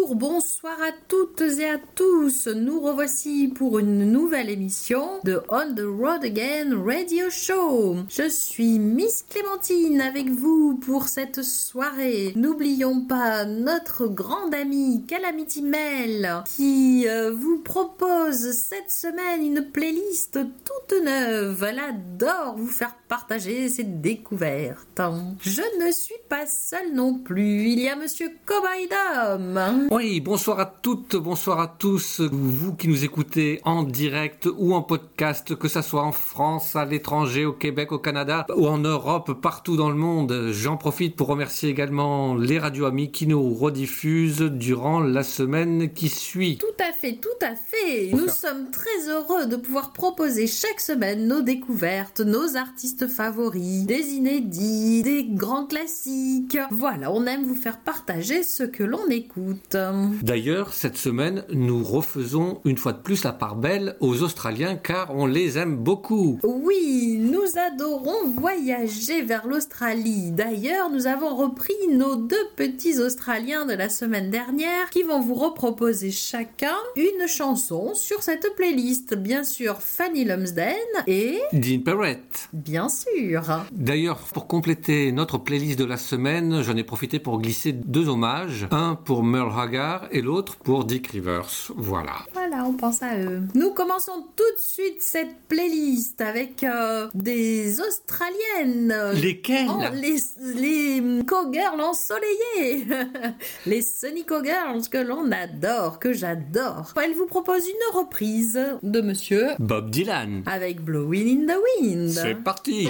bonsoir à toutes et à tous. Nous revoici pour une nouvelle émission de On the Road Again Radio Show. Je suis Miss Clémentine avec vous pour cette soirée. N'oublions pas notre grande amie Calamity Mel qui vous propose cette semaine une playlist toute neuve. Elle adore vous faire partager ses découvertes. Je ne suis pas seule non plus. Il y a Monsieur Cowboy Dom. Oui, bonsoir à toutes, bonsoir à tous, vous qui nous écoutez en direct ou en podcast, que ça soit en France, à l'étranger, au Québec, au Canada ou en Europe, partout dans le monde. J'en profite pour remercier également les radios amis qui nous rediffusent durant la semaine qui suit. Tout à fait, tout à fait. Nous sommes très heureux de pouvoir proposer chaque semaine nos découvertes, nos artistes favoris, des inédits, des grands classiques. Voilà, on aime vous faire partager ce que l'on écoute. D'ailleurs, cette semaine, nous refaisons une fois de plus la part belle aux Australiens car on les aime beaucoup. Oui, nous adorons voyager vers l'Australie. D'ailleurs, nous avons repris nos deux petits Australiens de la semaine dernière qui vont vous reproposer chacun une chanson sur cette playlist. Bien sûr, Fanny Lumsden et Dean Perrett. Bien sûr. D'ailleurs, pour compléter notre playlist de la semaine, j'en ai profité pour glisser deux hommages. Un pour Merle Haggard et l'autre pour Dick Rivers. Voilà. Voilà, on pense à eux. Nous commençons tout de suite cette playlist avec des Australiennes. Lesquelles? Les cowgirls ensoleillées. Les Sunny Cowgirls que l'on adore, que j'adore. Elle vous propose une reprise de Monsieur Bob Dylan avec Blowin' in the Wind. C'est parti.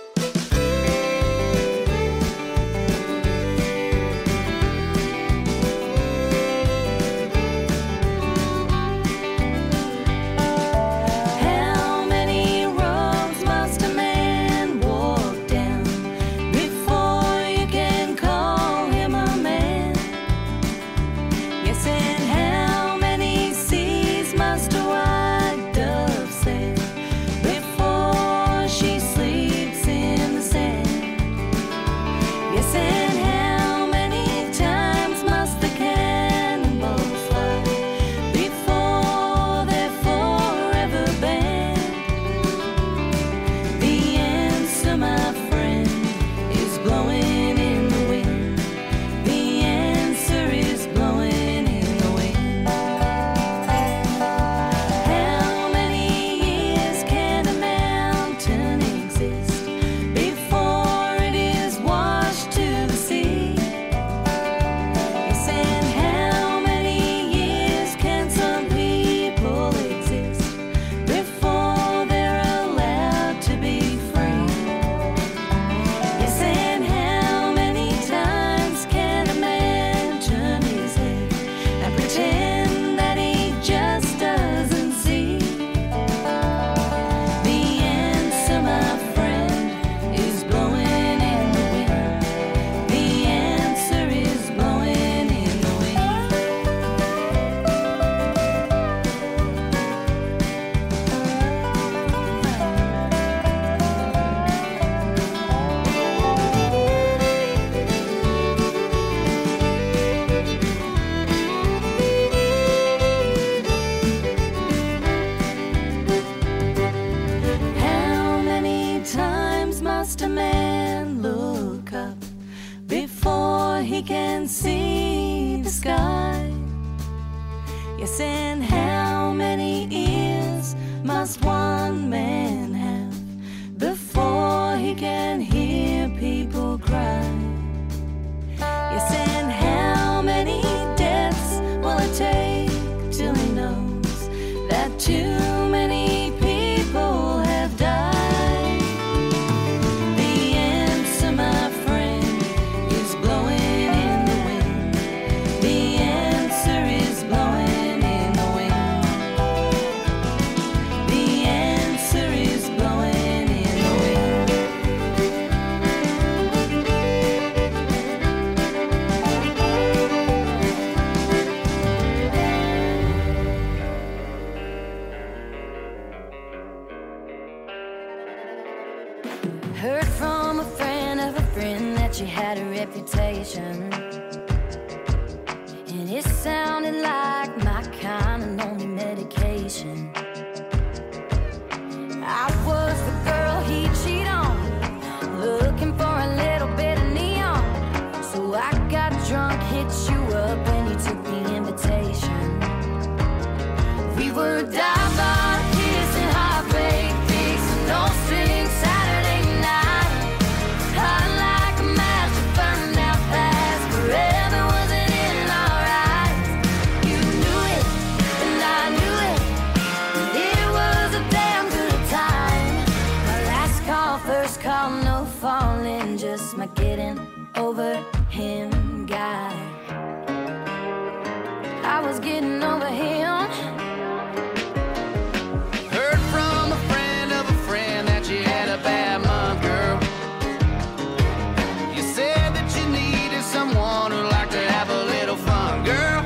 Heard from a friend of a friend that you had a reputation, and it sounded like my kind of lonely medication. I was the girl he'd cheat on, looking for a little bit of neon. So I got drunk, hit you up, and you took the invitation. We were dive bar, kissing, heartbreak, fixing, no strings, Saturday night. Hot like a match, burned out fast, forever wasn't in our eyes. You knew it, and I knew it, and it was a damn good time. My last call, first call, no falling, just my getting over him guy. I was getting over him. Heard from a friend of a friend that you had a bad month, girl. You said that you needed someone who liked to have a little fun, girl.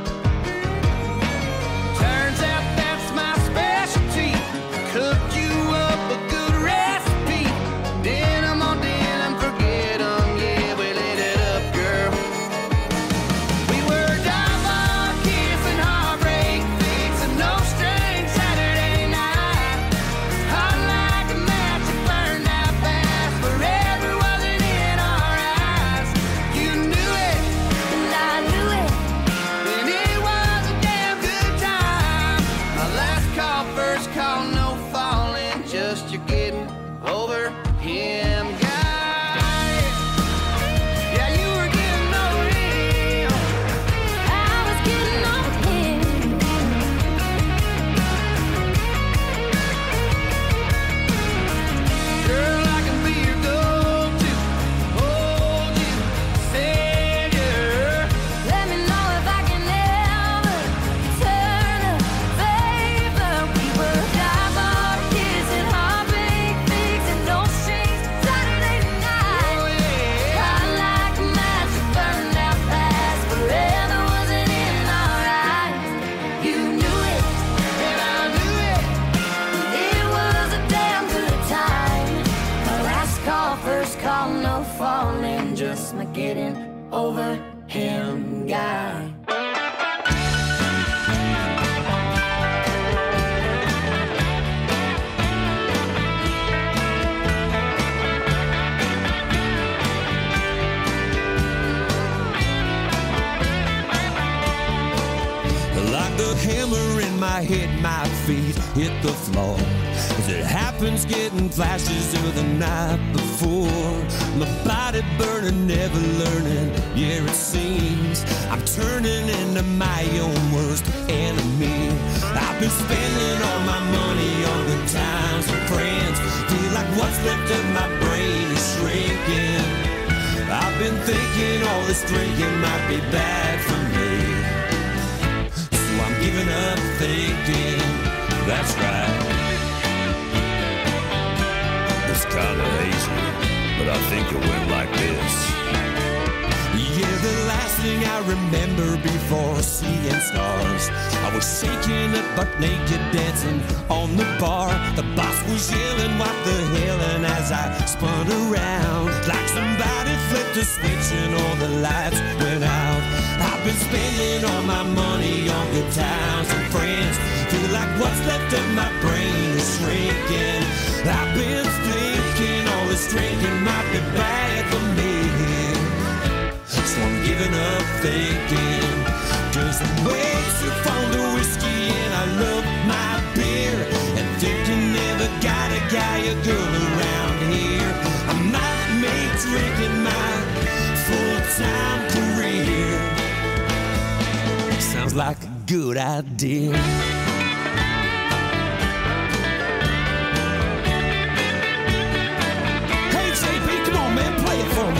Turns out that's my specialty. Cooked you up a good recipe. Denim on denim, forget 'em, yeah, we lit it up, girl. We were dive bar, kissing, heartbreak, fixing, no strings, Saturday night. Hot like a match, it burned out fast, forever wasn't in our eyes. You knew it, And I knew it. and it was a damn good time. My last call, first call, no falling, just you getting over him, guy. Yeah, you were getting over him. I was getting over him. Girl, I can be your go-to, hold you, savior. Let me know if I can ever turn a favor. We were dive bar, kissing, heartbreak, fixing, no strings, Saturday night. Oh yeah. Hot like a match, it burned out fast, forever wasn't in our eyes. You knew it, And I knew it. it was a damn good time. My last call, first call, no falling, just my getting over him guy. Like the hammer in my head, my feet hit the floor. As it happens, getting flashes of the night before. My body burning, never learning, yeah it seems I'm turning into my own worst enemy. I've been spending all my money on good times and friends. Feel like what's left of my brain is shrinking. I've been thinking all this drinking might be bad for me. I'm giving up thinking, that's right. It's kinda hazy, but I think it went like this. Yeah, the last thing I remember before seeing stars, I was shaking it butt naked dancing on the bar. The boss was yelling, what the hell, and as I spun around, like somebody flipped a switch and all the lights went out. I've been spending all my money on good times and friends. Feel like what's left of my brain is shrinking. I've been thinking all this drinking might be bad for me. So I'm giving up thinking, 'cause I'm way too fond of whiskey and I love my beer. And thinking never got a guy or girl around here. I might make drinking my full-time career. Sounds like a good idea. Hey JP, come on man, play it for me.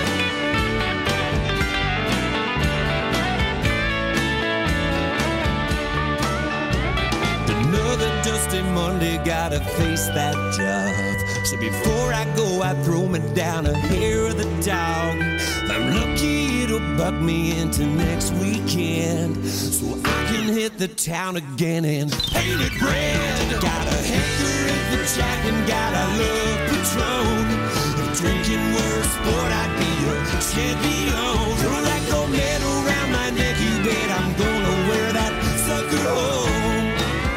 Another dusty Monday, gotta face that job. So before I go, I throw me down a hair of the dog. I'm lucky it'll buck me into next weekend, so I can hit the town again and paint it red. Got a Hector at the Jack and got a love Patron. If drinking were a sport, I'd be a champion. Throw that gold medal around my neck, you bet. head, I'm gonna wear that sucker home.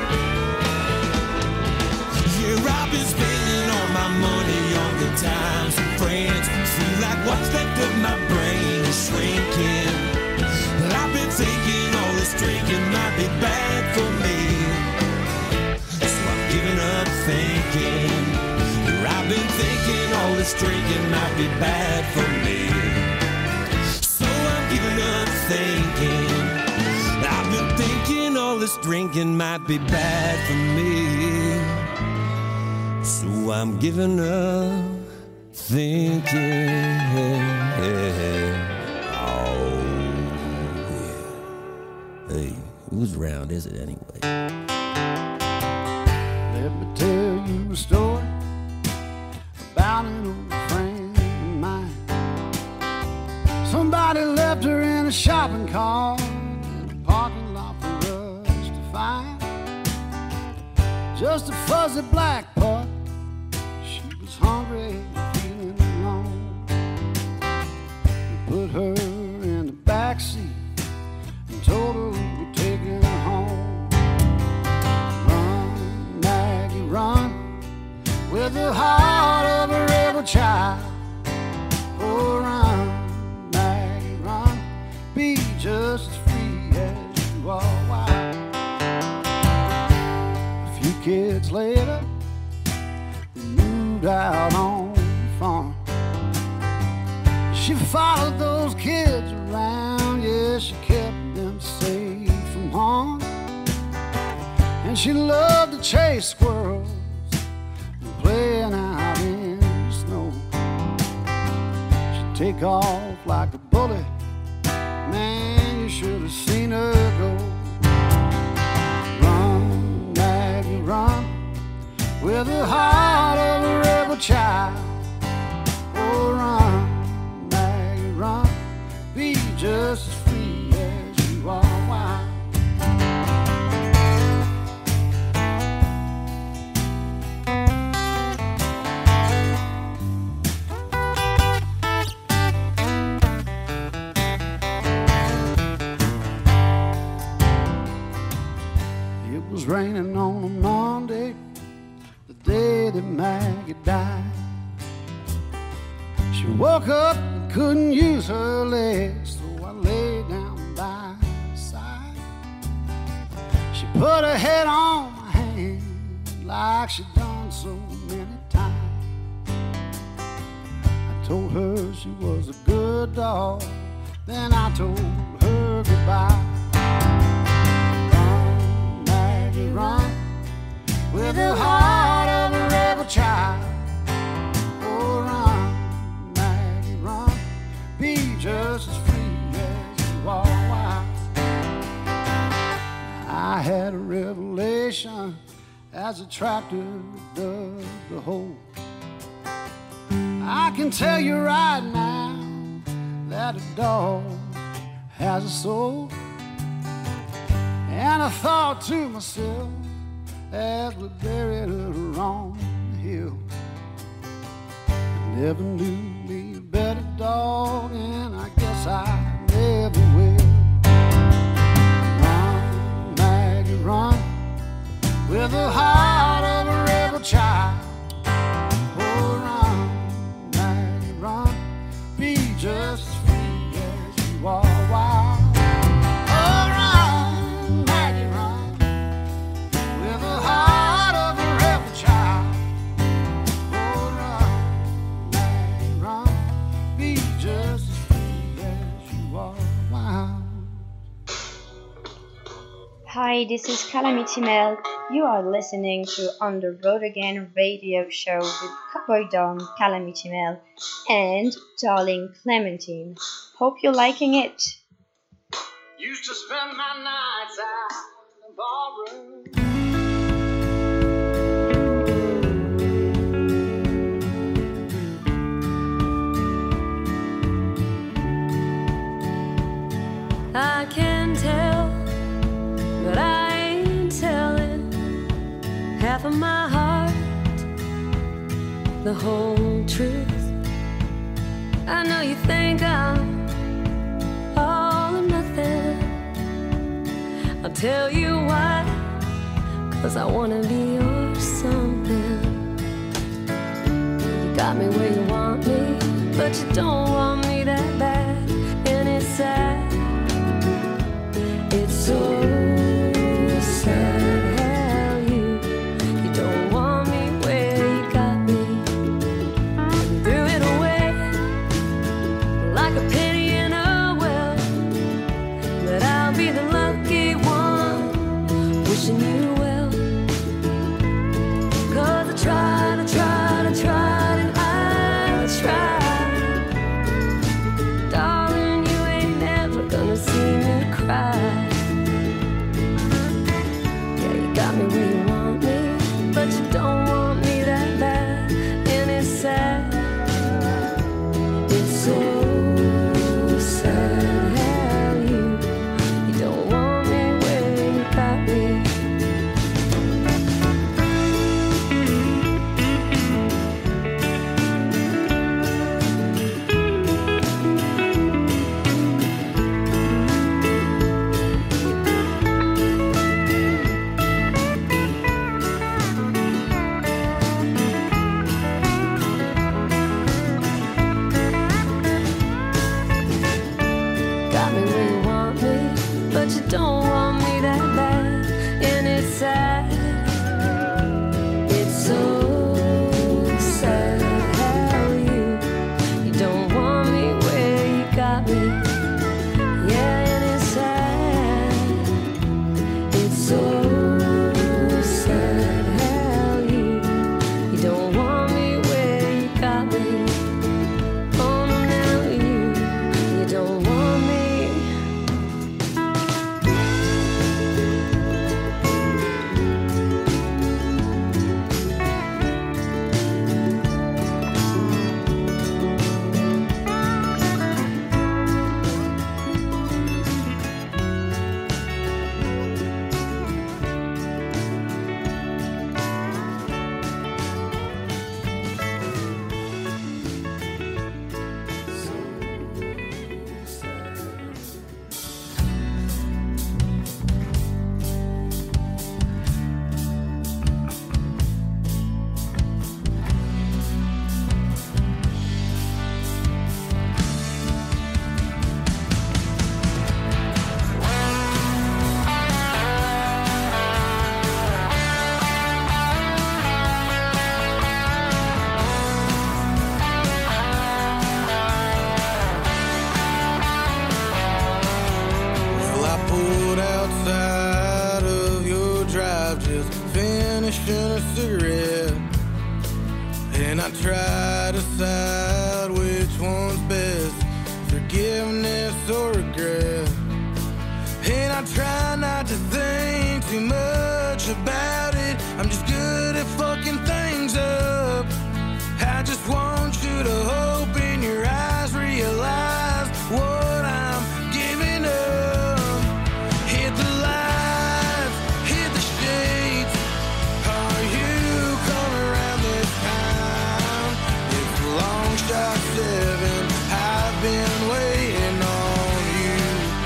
Yeah, I've been spending all my money on good times and friends. Feel like what's left of my brain is shrinking. But I've been thinking all this drinking might be bad for me. So I'm giving up thinking. I've been thinking all this drinking might be bad for me. So I'm giving up thinking. I've been thinking all this drinking might be bad for me. So I'm giving up thinking. Oh, yeah. Hey, whose round is it anyway? Let me tell you a story about an old friend of mine. Somebody left her in a shopping cart in a parking lot for us to find. Just a fuzzy black pup. She was hungry and feeling alone. We put her in the backseat and told her we were taking her home. Run, Maggie, run, with the heart of a rebel child. Oh, run, Maggie, run, be just as free as you are wild. A few kids later, we moved out on the farm. She followed those kids around, yeah, she kept them safe from harm. And she loved to chase squirrels and playing out in the snow. She'd take off like a bullet, man, you should have seen her go. Run, Maggie, run, with the heart of a rebel child. Oh, run, Maggie, run, be just as free as you are wild. It was raining on a Monday, the day that Maggie died. She woke up and couldn't use her legs, so I lay down by her side. She put her head on my hand like she'd done so many times. I told her she was a good dog, then I told her goodbye. Run, Maggie, run, with the heart of a rebel child. Oh, run, Maggie, run, be just as free as you are wild. I had a revelation as a tractor dug the hole. I can tell you right now that a dog has a soul. And I thought to myself as we buried her on the hill, I never knew me a better dog, and I guess I never will. Run, Maggie, run, with the heart of a rebel child. Oh, run, Maggie, run, be just as free as you are wild. Oh, run, Maggie, run, with the heart of a rebel child. Oh, run, Maggie, run, be just as free as you are wild. Hi, this is Calamity Mel. You are listening to On the Road Again radio show with Cowboy Don, Calamity Mel, and Darling Clementine. Hope you're liking it. Used to spend my nights out in the barroom. I can tell, but I ain't telling half of my heart, the whole truth. I know you think I'm all or nothing, tell you why, 'cause I wanna be yours something. You got me where you want me, but you don't want me that bad. And it's sad, it's so sad how you don't want me where you got me. You threw it away like a penny in a well, but I'll be the lucky one wishing you well. 'Cause I tried and I tried. Darling, you ain't never gonna see me cry. Yeah, you got me where you want me, but you don't want me that bad. And it's sad, it's so sad how you don't want me where you got me. Got me where you want me, but you don't want me that bad. And it's sad, it's so sad how you don't want me where you got me. Yeah, and it's sad, it's so sad how you don't want me where you got me. Oh no, now you don't want me. Well, I pulled outside of your drive, just finishing a cigarette, and I try to decide which one's best, forgiveness or regret. And I try not to think too much about it. I'm just good at fucking things up. I just want you to open your eyes, realize what I'm giving up. Hit the lights, hit the shades. Are you coming around this time? It's a long shot 7. I've been waiting on you.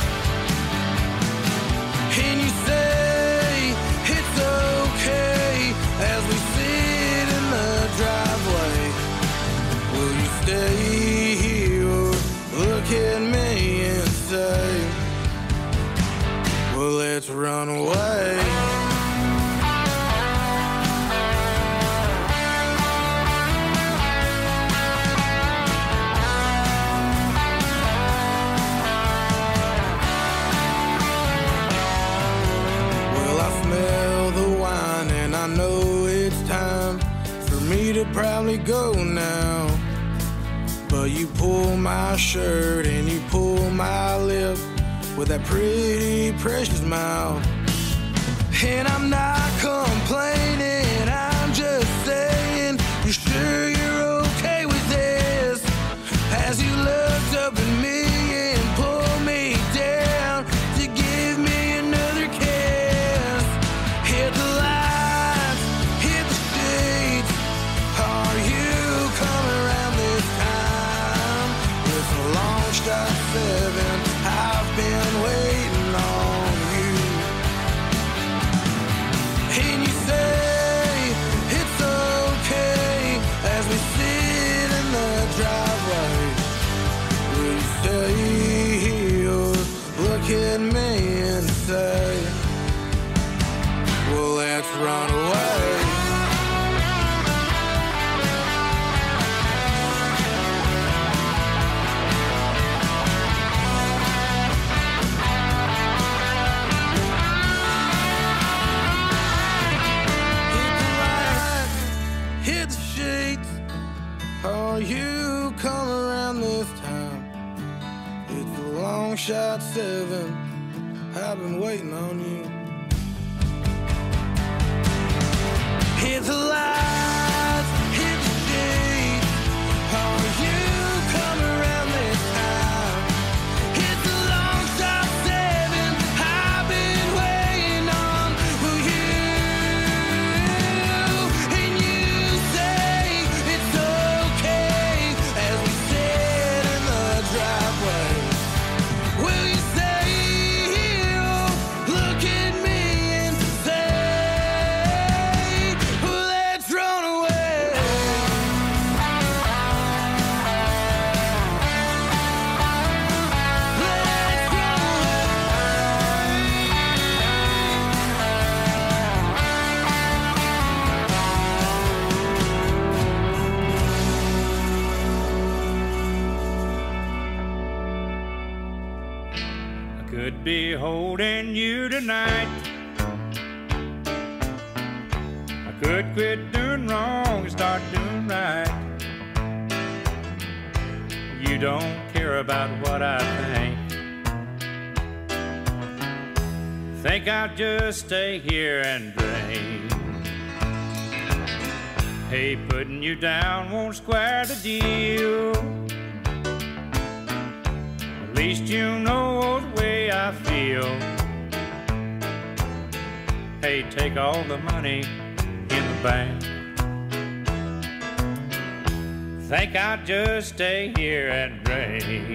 And you say it's okay as we sit in the driveway. Will you stay here or look at me and say, well, let's run away? Well, I smell the wine and I know it's time for me to probably go now. But you pull my shirt and you pull my lip with that pretty precious mouth. And I'm not complaining, I'm just saying, you sure you're okay with this? As you looked up at me and pulled me down to give me another kiss. Hit the lights, hit the shades. Are you coming around this time? It's a long shot 7. I've been waiting on you. me and say, well, let's run away. Hit the sheets. Oh, you come around this time. It's a long shot 7. I've been waiting on you. Hit the lights, hit the sheets. Oh, you come around this time. It's a long shot 7. I've been waiting on you. And you say it's okay as we sit in the driveway. Will you stay here? Look at me and say, well, let's run away. Let's run I could be holding you tonight. I could quit doing wrong and start doing right. You don't care about what I think I'll just stay here and drink. Hey, putting you down won't square the deal. At least you know the way I feel. Hey, take all the money in the bank. Think I'll just stay here and drink.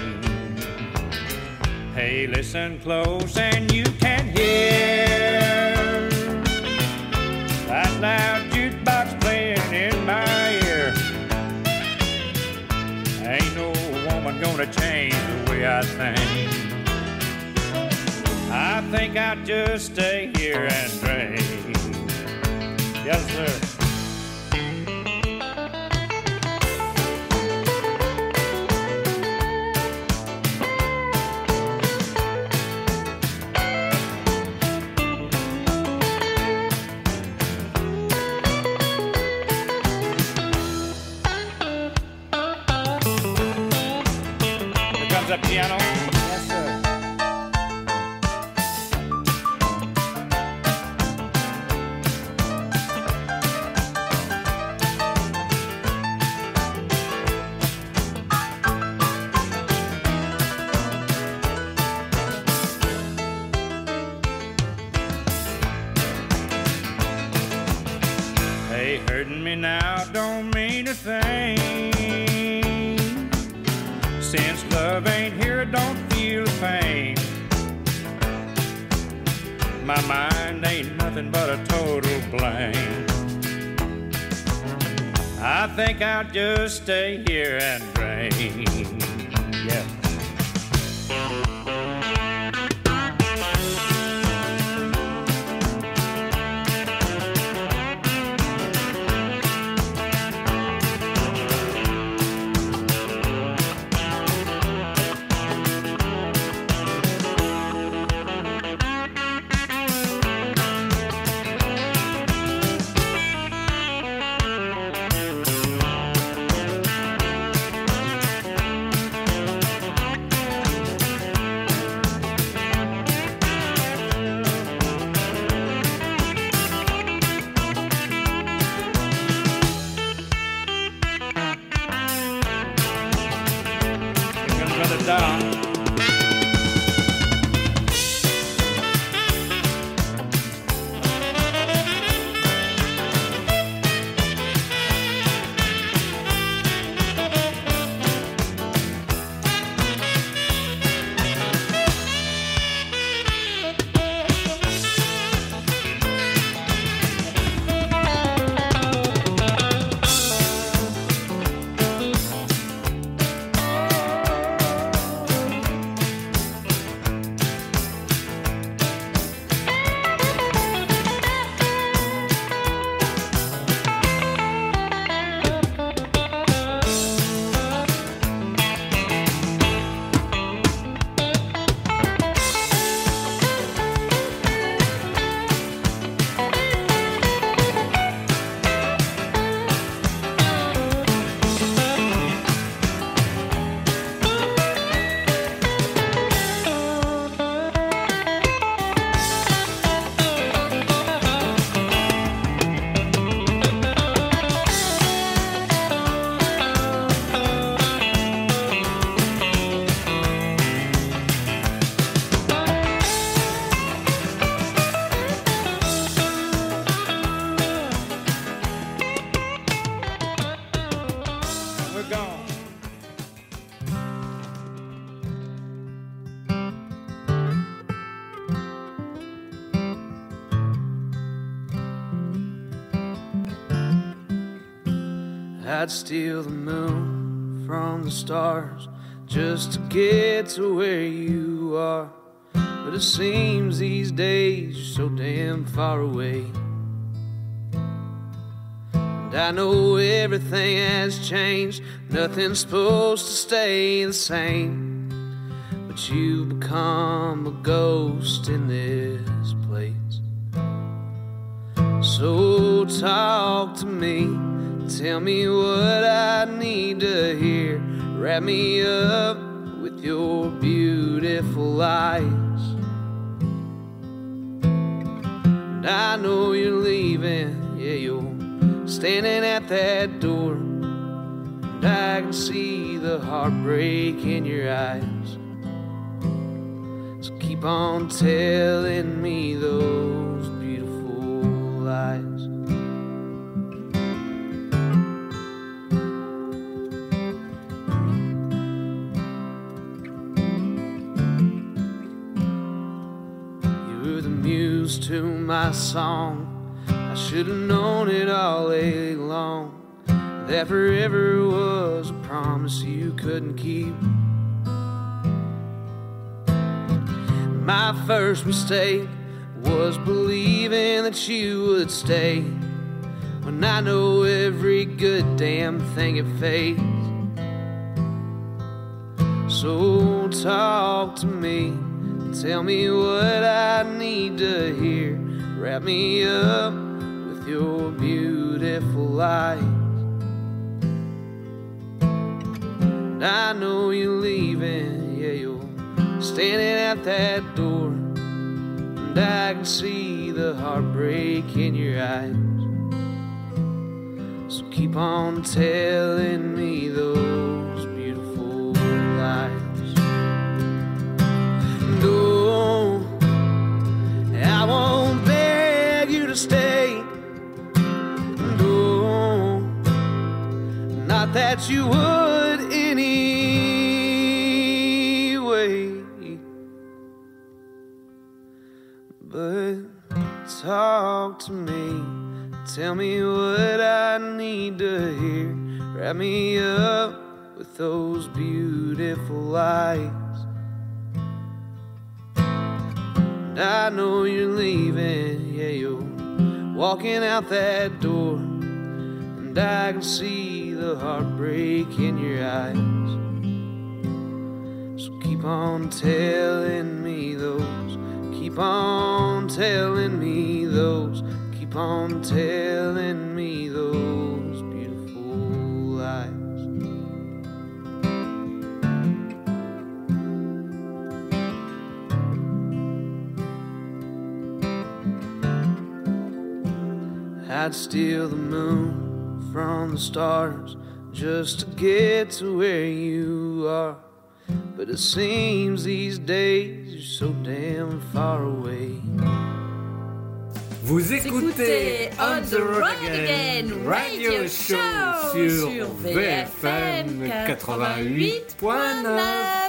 Hey, listen close and you can hear that loud jukebox playing in my ear. Ain't no woman gonna change the way I think. I think I'll just stay here and drink. Yes, sir. Here comes that piano. Yes, sir. Hey, hurting me now don't mean a thing. Since love ain't here, I don't feel the pain. My mind ain't nothing but a total blank. I think I'll just stay here and drink. Yeah. I'd steal the moon from the stars just to get to where you are. But it seems these days you're so damn far away. And I know everything has changed, nothing's supposed to stay the same. But you've become a ghost in this place. So talk to me, tell me what I need to hear. Wrap me up with your beautiful eyes. And I know you're leaving, yeah, you're standing at that door. And I can see the heartbreak in your eyes. So keep on telling me those beautiful lies. To my song, I should have known it all along, that forever was a promise you couldn't keep. My first mistake was believing that you would stay, when I know every good damn thing it fades. So talk to me, tell me what I need to hear. Wrap me up with your beautiful eyes. And I know you're leaving, yeah, you're standing at that door. And I can see the heartbreak in your eyes. So keep on telling me those beautiful lies. No, I won't beg you to stay. No, not that you would anyway. But talk to me, tell me what I need to hear. Wrap me up with those beautiful lies. I know you're leaving, yeah, you're walking out that door. And I can see the heartbreak in your eyes. So keep on telling me those, keep on telling me those, keep on telling me those beautiful lies. I'd steal the moon from the stars just to get to where you are. But it seems these days you're so damn far away. Vous écoutez On the Road Again Radio Show sur VFM 88.9.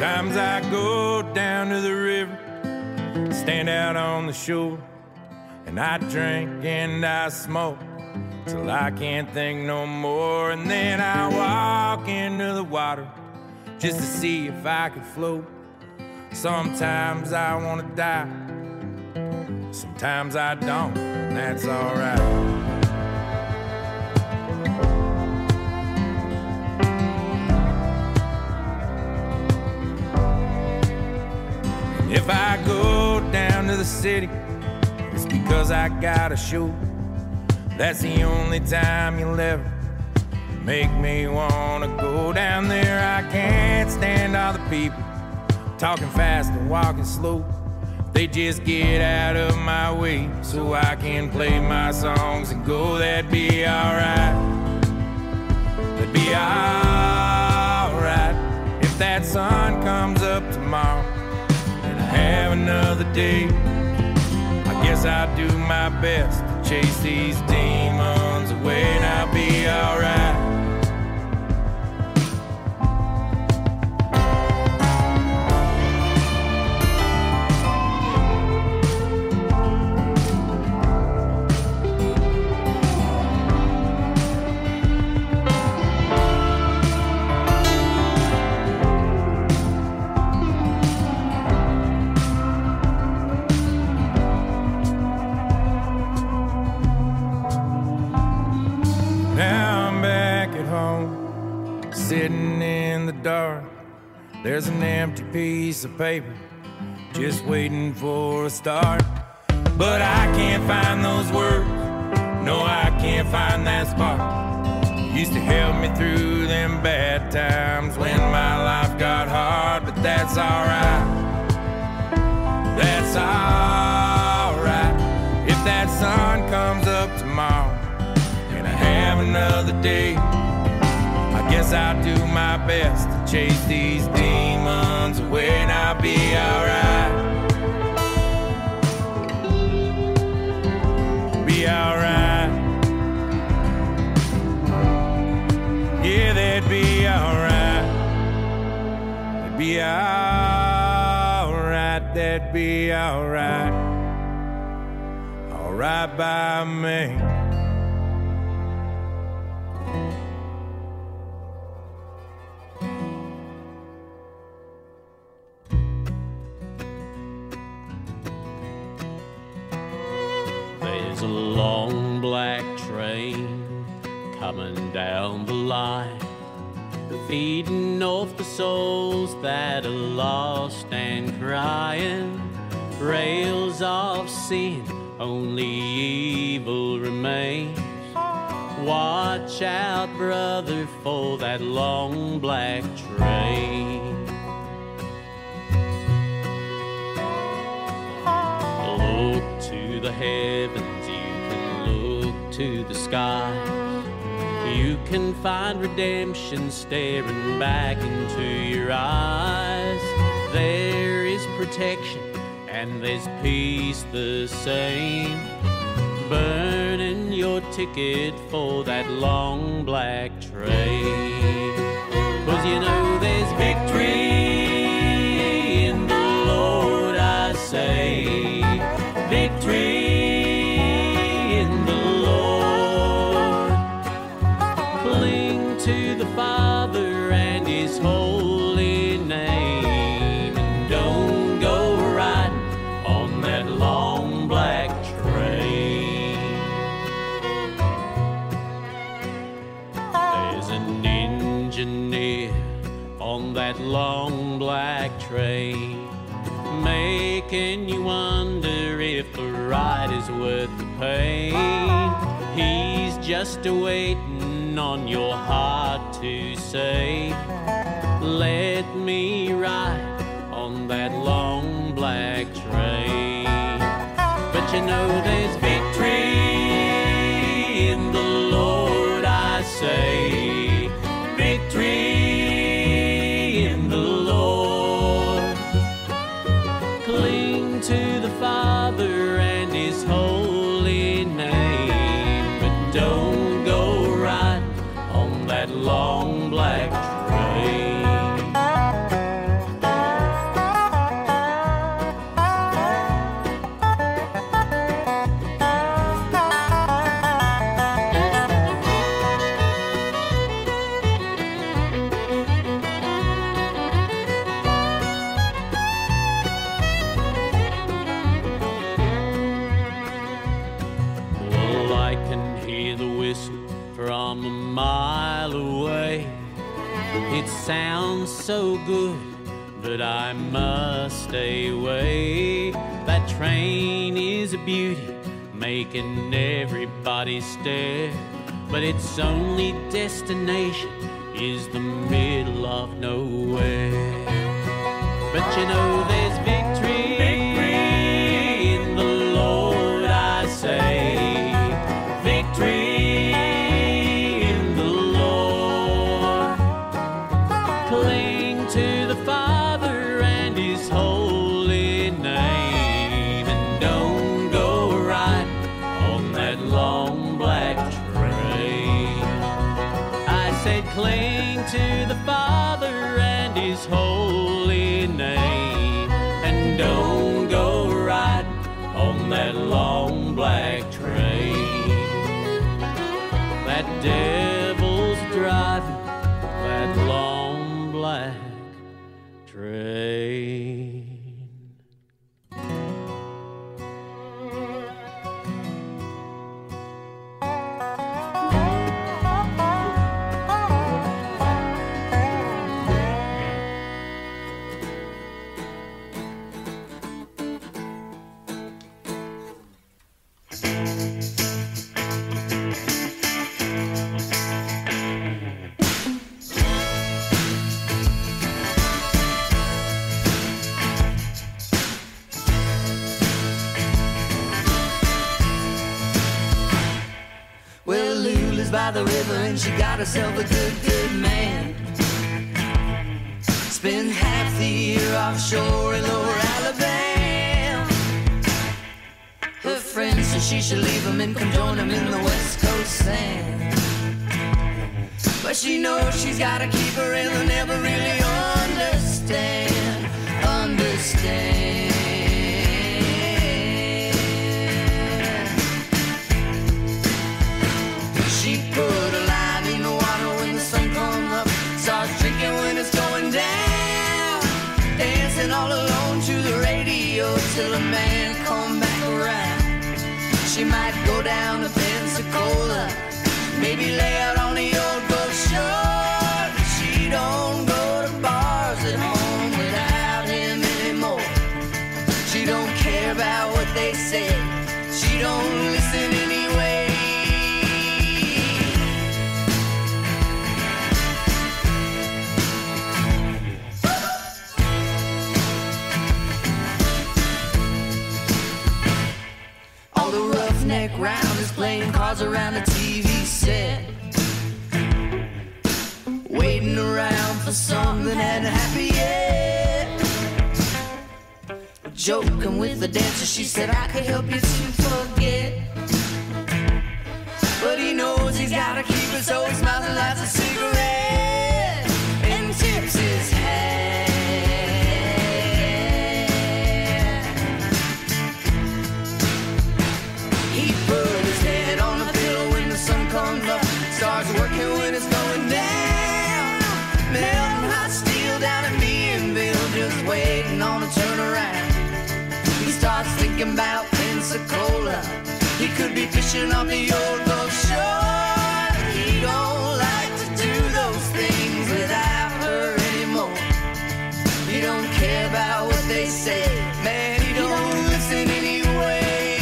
Sometimes I go down to the river, stand out on the shore, and I drink and I smoke till I can't think no more. And then I walk into the water just to see if I could float. Sometimes I wanna die, sometimes I don't, and that's alright. If I go down to the city, it's because I got a show. That's the only time you'll ever make me wanna go down there. I can't stand all the people talking fast and walking slow. They just get out of my way so I can play my songs and go. That'd be alright. That'd be alright if that sun comes up tomorrow and I have another day. I guess I'll do my best to chase these demons away, and I'll be alright. Sitting in the dark, there's an empty piece of paper just waiting for a start. But I can't find those words, no, I can't find that spark. Used to help me through them bad times when my life got hard. But that's alright, that's alright if that sun comes up tomorrow and I have another day. I guess I'll do my best to chase these demons away, and I'll be alright. Be alright. Yeah, that'd be alright. That'd be alright. That'd be alright. Alright by me. There's a long black train coming down the line, feeding off the souls that are lost and crying. Rails of sin, only evil remains. Watch out, brother, for that long black train. Look to the heavens, you can look to the skies. You can find redemption staring back into your eyes. There is protection and there's peace the same. Burning your ticket for that long black train. 'Cause you know there's victory in the Lord, I say. Victory in the Lord. Cling to the Father and His holy name, and don't go riding on that long black train. There's an engineer on that long black train, making you wonder if the ride is worth the pain. He's just waiting on your heart to say, let me ride on that long black train. But you know there's victory in the Lord, I say. Victory in the Lord. Cling to the Father and His holy name, but don't go right on that long black train. can hear the whistle from a mile away. It sounds so good, but I must stay away. That train is a beauty, making everybody stare, but its only destination is the middle of nowhere. But you know there's victory, in the Lord, I say. Victory in the Lord. Cling to the Father and His holy name, and don't go right on that long black train. I said cling to the Father and His holy name, and don't go right on that long black train. That devil's driving that long black train. Well, Lou lives by the river and she got herself a good man. Spends half the year offshore in lower Alabama. Her friends say she should leave him and come join him in the West Coast sand. But she knows she's gotta keep her and they'll never really understand. She put a line in the water when the sun comes up, starts drinking when it's going down, dancing all alone to the radio till a man come back around. She might go down to Pensacola, maybe lay out on the old Gulf Shore. She don't go to bars at home without him anymore. She don't care about what they say, she don't listen anyway. All the roughneck round is playing cards around a TV set, waiting around for something that hadn't happened yet. Joking with the dancer, she said I could help you to forget. But he knows he's gotta keep it, so he smiles and lights a cigarette and tips his hat. He put his head on the pillow when the sun comes up, starts working when it's going down, melting hot steel down at Meadville, just waiting on a turnaround. He starts thinking about Pensacola, he could be fishing on the old Gulf Shore. He don't like to do those things without her anymore. He don't care about what they say, man, he don't listen anyway.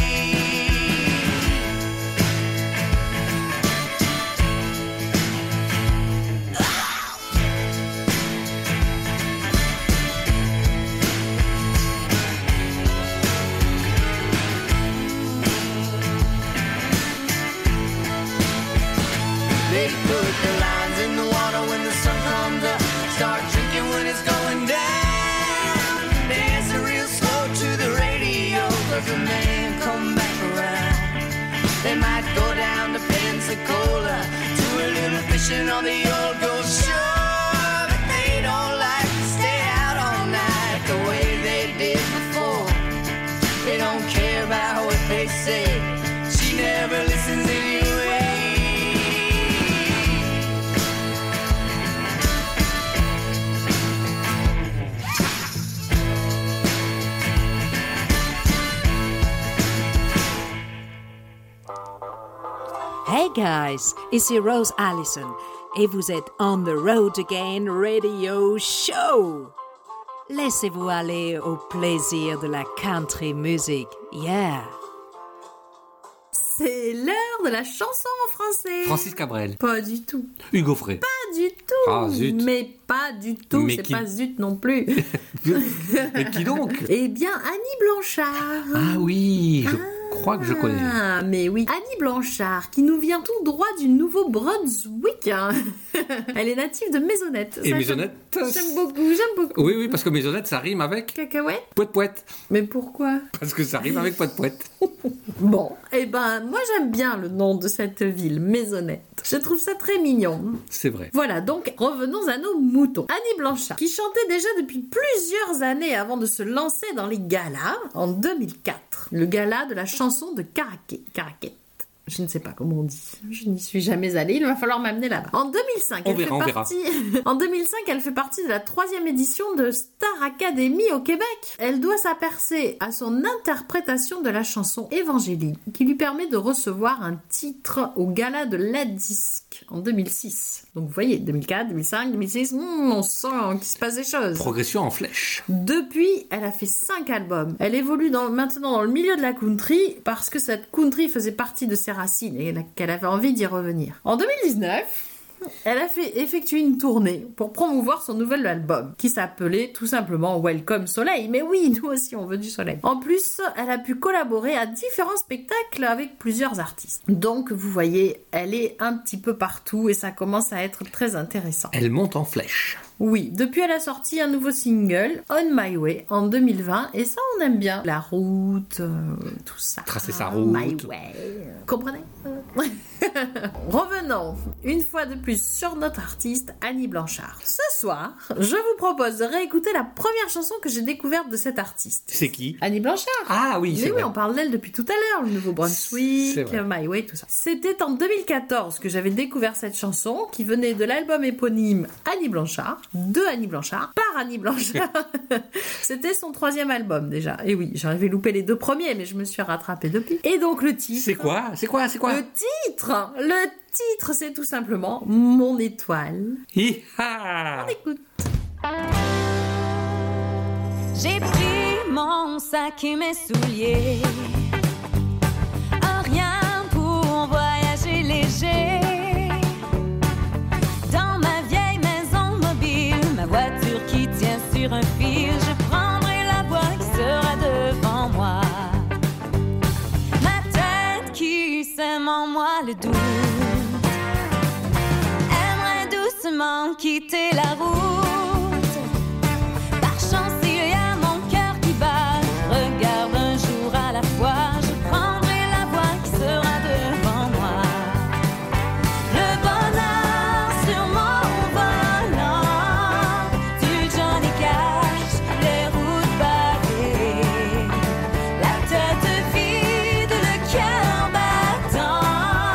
They put the lines in the water when the sun comes up, start drinking when it's going down, dancing real slow to the radio, cause the man come back around. They might go down to Pensacola, do a little fishing on the old Gulf Shore, but they don't like to stay out all night the way they did before. They don't care about what they say, she never listens anyway. Hey guys, ici Rose Allison et vous êtes On the Road Again Radio Show. Laissez-vous aller au plaisir de la country music. Yeah. C'est l'heure de la chanson en français. Francis Cabrel. Pas du tout. Hugo Frey. Pas du tout. Ah, zut. Mais pas du tout. Mais c'est qui- pas zut non plus. Mais qui donc? Eh bien, Annie Blanchard. Ah oui, je crois que je connais. Ah, mais oui. Annie Blanchard, qui nous vient tout droit du Nouveau-Brunswick. hein. Elle est native de Maisonnette. Et Ça, Maisonnette, J'aime beaucoup. Oui, oui, parce que Maisonnette, ça rime avec Cacahuète. Pouette-Pouette. Mais pourquoi? Parce que ça rime avec Pouette-Pouette. Bon, eh ben, moi j'aime bien le nom de cette ville, Maisonnette. Je trouve ça très mignon. C'est vrai. Voilà, donc revenons à nos moutons. Annie Blanchard, qui chantait déjà depuis plusieurs années avant de se lancer dans les galas en 2004. Le gala de la chanson de Caraquet. Je ne sais pas comment on dit. Je n'y suis jamais allée. Il va falloir m'amener là-bas. En 2005, On verra. En 2005, elle fait partie de la 3e édition de Star Academy au Québec. Elle doit sa percée à son interprétation de la chanson Évangélie, qui lui permet de recevoir un titre au gala de la disque en 2006. Donc vous voyez, 2004, 2005, 2006, on sent qu'il se passe des choses. Progression en flèche. Depuis, elle a fait 5 albums. Elle évolue maintenant dans le milieu de la country parce que cette country faisait partie de ses racines et qu'elle avait envie d'y revenir. En 2019, elle a effectué une tournée pour promouvoir son nouvel album qui s'appelait tout simplement Welcome Soleil. Mais oui, nous aussi on veut du soleil. En plus, elle a pu collaborer à différents spectacles avec plusieurs artistes. Donc vous voyez, elle est un petit peu partout et ça commence à être très intéressant. Elle monte en flèche. Oui, depuis elle a sorti un nouveau single, On My Way, en 2020, et ça on aime bien. La route, tout ça. Tracer sa route. My Way. Comprenez? Revenons une fois de plus sur notre artiste Annie Blanchard. Ce soir, je vous propose de réécouter la première chanson que j'ai découverte de cette artiste. C'est qui? Annie Blanchard. Ah oui, c'est Mais vrai. oui, on parle d'elle depuis tout à l'heure, le Nouveau-Brunswick, C'est vrai. My Way, tout ça. C'était en 2014 que j'avais découvert cette chanson qui venait de l'album éponyme Annie Blanchard, de Annie Blanchard, par Annie Blanchard. C'était son 3e album déjà. Et oui, j'avais loupé les 2 premiers, mais je me suis rattrapée depuis. Et donc le titre... C'est quoi? Le titre, c'est tout simplement Mon étoile. Hi-ha! On écoute. J'ai pris mon sac et mes souliers, rien pour voyager léger. Dans ma vieille maison mobile, ma voiture qui tient sur un fil, je prendrai la voie qui sera devant moi. Ma tête qui sème en moi le doute, aimerait doucement quitter la route. Par chance, il y a mon cœur qui bat. Je regarde un jour à la fois. Je prendrai la voie qui sera devant moi. Le bonheur sur mon volant, du Johnny Cash, les routes pavées, la tête vide, le cœur battant,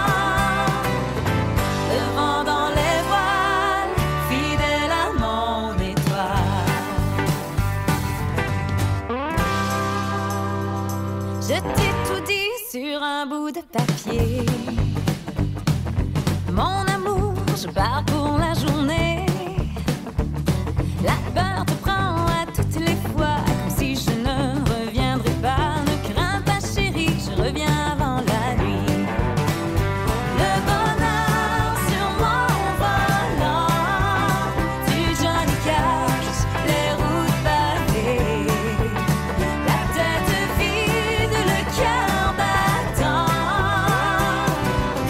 le vent dans les voiles, fidèle à mon étoile. Je t'ai tout dit sur un bout de papier. Mon amour, je pars pour la journée. La peur te prend à toutes les fois, comme si je ne reviendrais pas. Ne crains pas chérie, je reviens avant la nuit. Le bonheur sur mon volant, du Johnny Cash, les routes pavées, la tête vide, le cœur battant,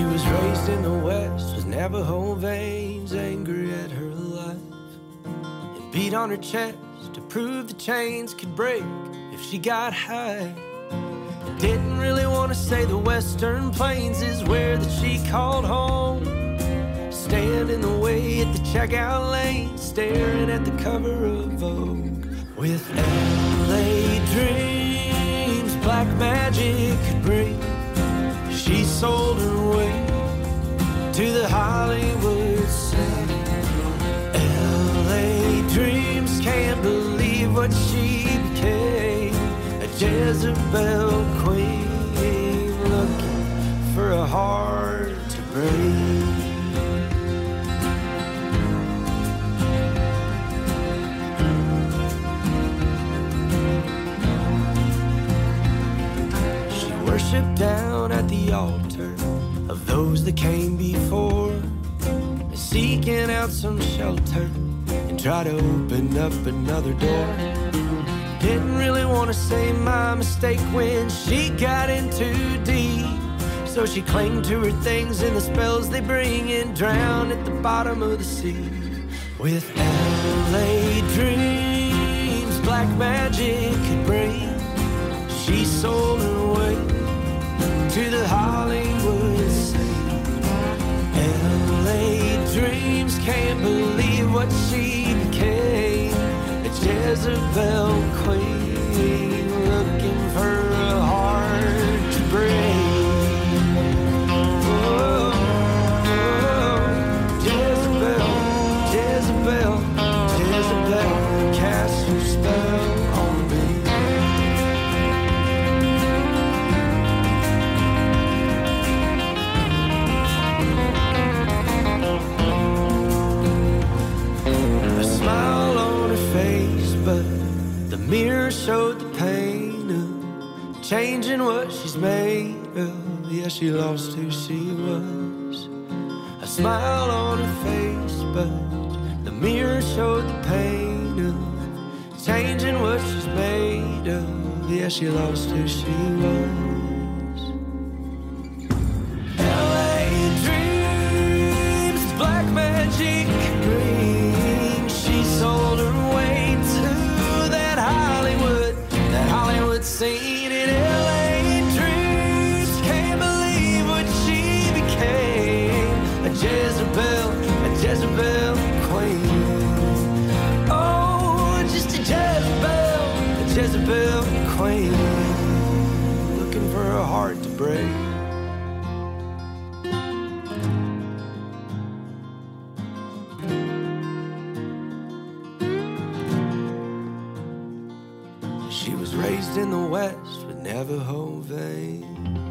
She was raised in the West with Navajo veins, angry at her life, and beat on her chest to prove the chains could break if she got high. Didn't really want to say the Western Plains is where that she called home. Stand in the way at the checkout lane, staring at the cover of Vogue. With LA dreams, black magic could bring, she sold her way to the Hollywood scene. LA dreams, can't believe what she became, a Jezebel queen, looking for a heart to break. Worship down at the altar of those that came before, seeking out some shelter and try to open up another door. Didn't really want to say my mistake when she got in too deep, so she clung to her things and the spells they bring and drowned at the bottom of the sea. With LA dreams, black magic could bring, she sold her way to the Hollywood scene. LA dreams, can't believe what she became, a Jezebel queen, looking for a heart to break. Oh, oh, Jezebel, Jezebel, Jezebel, cast your spell on me. Smile on her face, but the mirror showed the pain of changing what she's made of. Yeah, she lost who she was. A smile on her face, but the mirror showed the pain of changing what she's made of. Yeah, she lost who she was. LA dreams, black magic green, she sold her way to that Hollywood scene. In LA dreams, can't believe what she became, a Jezebel queen. Oh, just a Jezebel queen, looking for a heart to break. She was raised in the West with Navajo veins.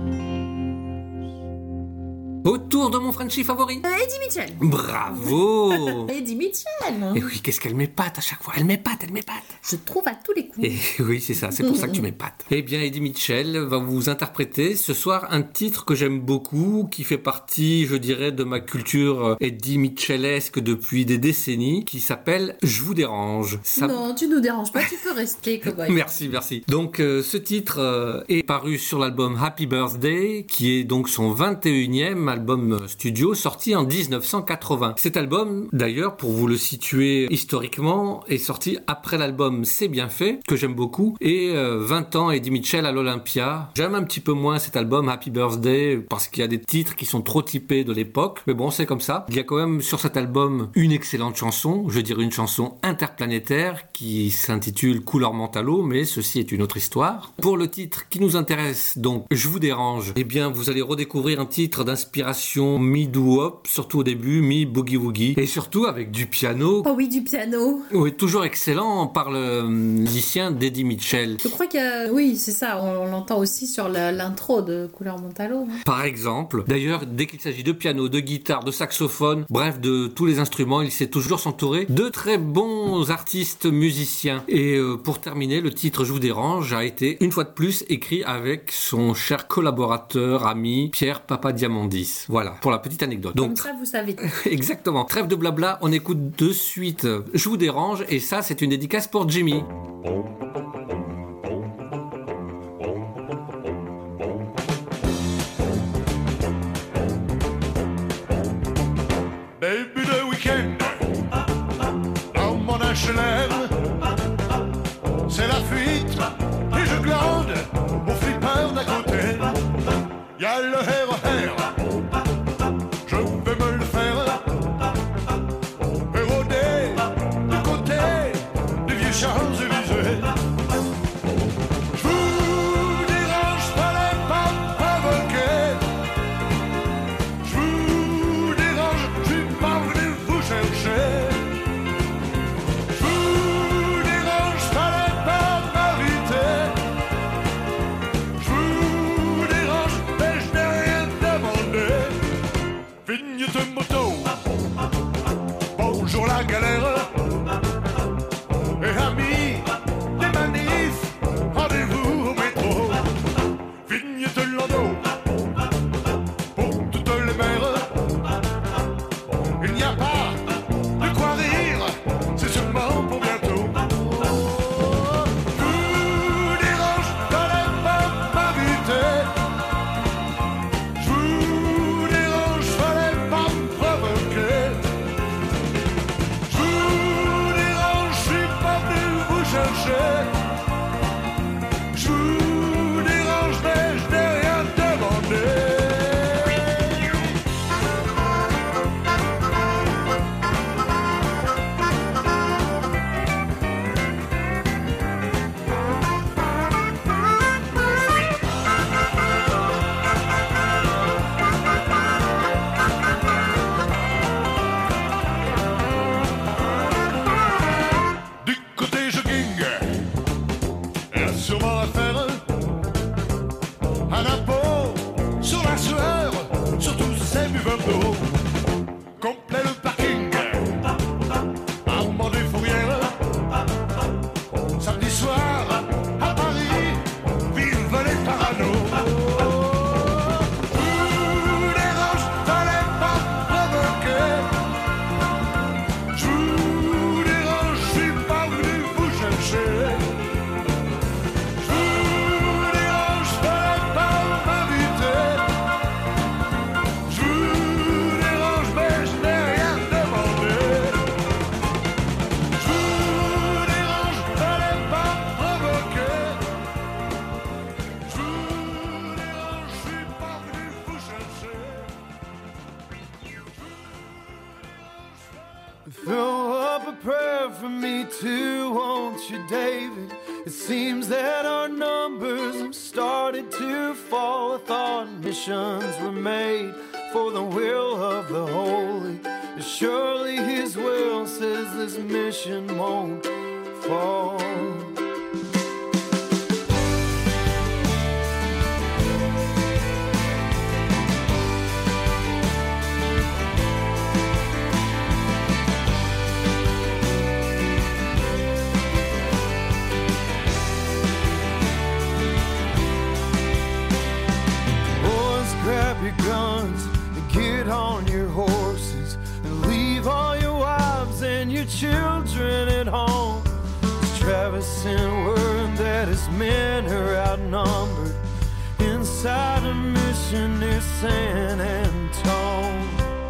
Autour de mon Frenchie favori. Eddie Mitchell. Bravo. Eddie Mitchell. Et oui, qu'est-ce qu'elle m'épate à chaque fois. Elle m'épate. Je trouve à tous les coups. Et oui, c'est ça, c'est pour ça que tu m'épates. Eh bien, Eddie Mitchell va vous interpréter ce soir un titre que j'aime beaucoup, qui fait partie, je dirais, de ma culture Eddie Mitchellesque depuis des décennies, qui s'appelle « Je vous dérange ». Non, tu nous déranges pas, tu peux rester, cowboy. Merci. Donc, ce titre est paru sur l'album Happy Birthday, qui est donc son 21e album studio, sorti en 1980. Cet album, d'ailleurs, pour vous le situer historiquement, est sorti après l'album C'est bien fait, que j'aime beaucoup, et 20 ans Eddie Mitchell à l'Olympia. J'aime un petit peu moins cet album Happy Birthday, parce qu'il y a des titres qui sont trop typés de l'époque, mais bon, c'est comme ça. Il y a quand même sur cet album une excellente chanson, je dirais une chanson interplanétaire, qui s'intitule Couleur Mentalo, mais ceci est une autre histoire. Pour le titre qui nous intéresse, donc, Je vous dérange, eh bien, vous allez redécouvrir un titre d'inspiration mi-doo-wop, surtout au début, mi-boogie-woogie, et surtout avec du piano. Oh oui, du piano. Oui, toujours excellent par le musicien d'Eddie Mitchell. Je crois que, oui, c'est ça, on l'entend aussi sur l'intro de Couleur Mentalo. Par exemple, d'ailleurs, dès qu'il s'agit de piano, de guitare, de saxophone, bref, de tous les instruments, il sait toujours s'entourer de très bons artistes musiciens. Et pour terminer, le titre Je vous dérange a été, une fois de plus, écrit avec son cher collaborateur, ami, Pierre Papadiamandis. Voilà, pour la petite anecdote. Donc, comme ça, vous savez. Exactement. Trêve de blabla, on écoute de suite Je vous dérange, et ça, c'est une dédicace pour Jimmy. y'a le RER. Je vais me le faire éroder du côté des vieux Champs-Élysées. Je vous dérange, fallait pas provoquer. Je vous dérange, je suis pas venu vous chercher. Je vous dérange, fallait pas m'inviter. Je vous dérange, mais je n'ai rien demandé. Vignette de moto, bonjour la galère. Et amis, des manifs, rendez-vous au métro. Vignette de landau, pour toutes les mères. Il n'y a pas de quoi rire, c'est sûrement pour bientôt. Je vous dérange, fallait pas m'inviter. Je vous dérange, fallait pas me provoquer. Je vous dérange, je suis pas venu vous chercher. Je vous dérange, mais je n'ai rien demandé. Du côté jogging, il y a sûrement à faire un impôt sur la sueur, sur tous ces buveurs d'eau. Complet le parking, Armand des Fourrières. Samedi soir, à Paris, vive les paranos. Je vous dérange, fallait pas provoquer. Je vous dérange, je suis pas venu vous chercher. Je vous dérange, fallait pas m'inviter. Je vous dérange, mais je n'ai rien demandé. Je vous dérange, fallait pas provoquer. Je vous dérange, je suis pas venu vous chercher. Throw up a prayer for me too, won't you, David? It seems that our numbers have started to fall. I thought missions were made for the will of the holy. Surely his will says this mission won't fall. Boys, grab your guns and get on your horses and leave all your wives and your children at home. 'Cause Travis sent word that his men are outnumbered inside a mission near San Antone.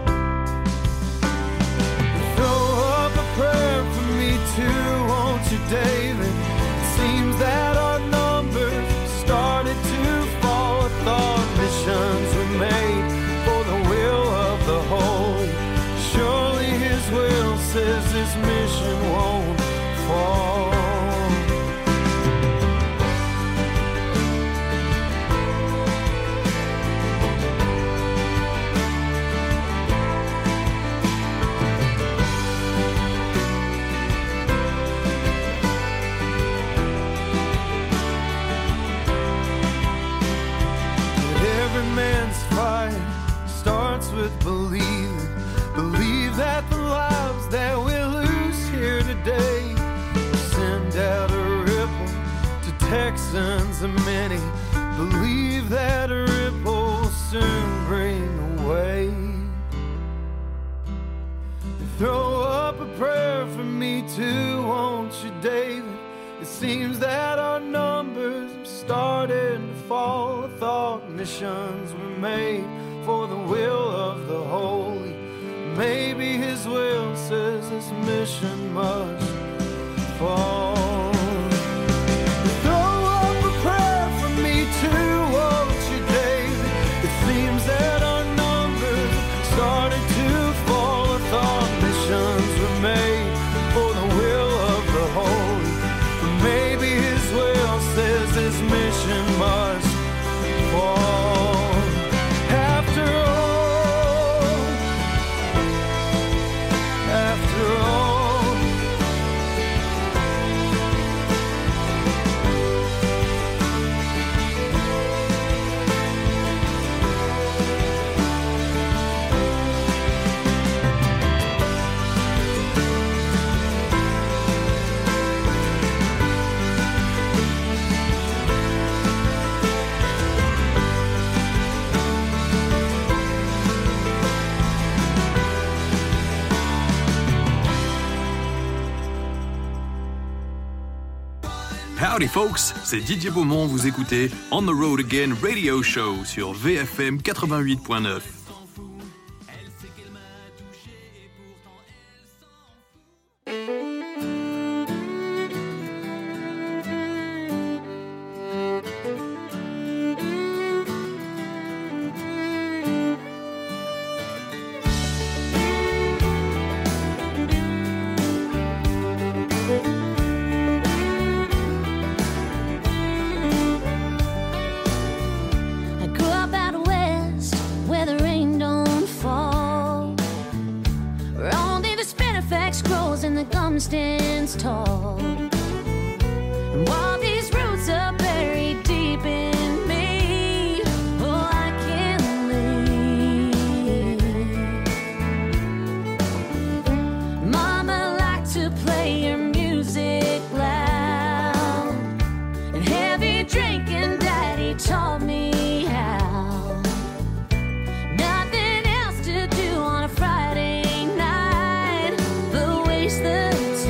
Throw up a prayer for me too, won't you, David? It seems that our numbers started to fall. I thought missions were made for the will of the holy. Surely his will says this mission won't fall. Every man's fight starts with believing. Believe that the lives that we lose here today send out a ripple to Texans and many. Believe that a ripple will soon bring a wave. Throw up a prayer for me too, won't you, David? It seems that our numbers have started to fall. I thought missions were made for the will of the holy. Maybe his will says this mission must fall. Throw up a prayer for me too, won't you, David? It Howdy folks, c'est Didier Beaumont, vous écoutez On the Road Again Radio Show sur VFM 88.9. Stands tall, and while these roots are buried deep in me, oh, I can't leave. Mama liked to play her music loud, and heavy drinking Daddy taught me how. Nothing else to do on a Friday night but waste the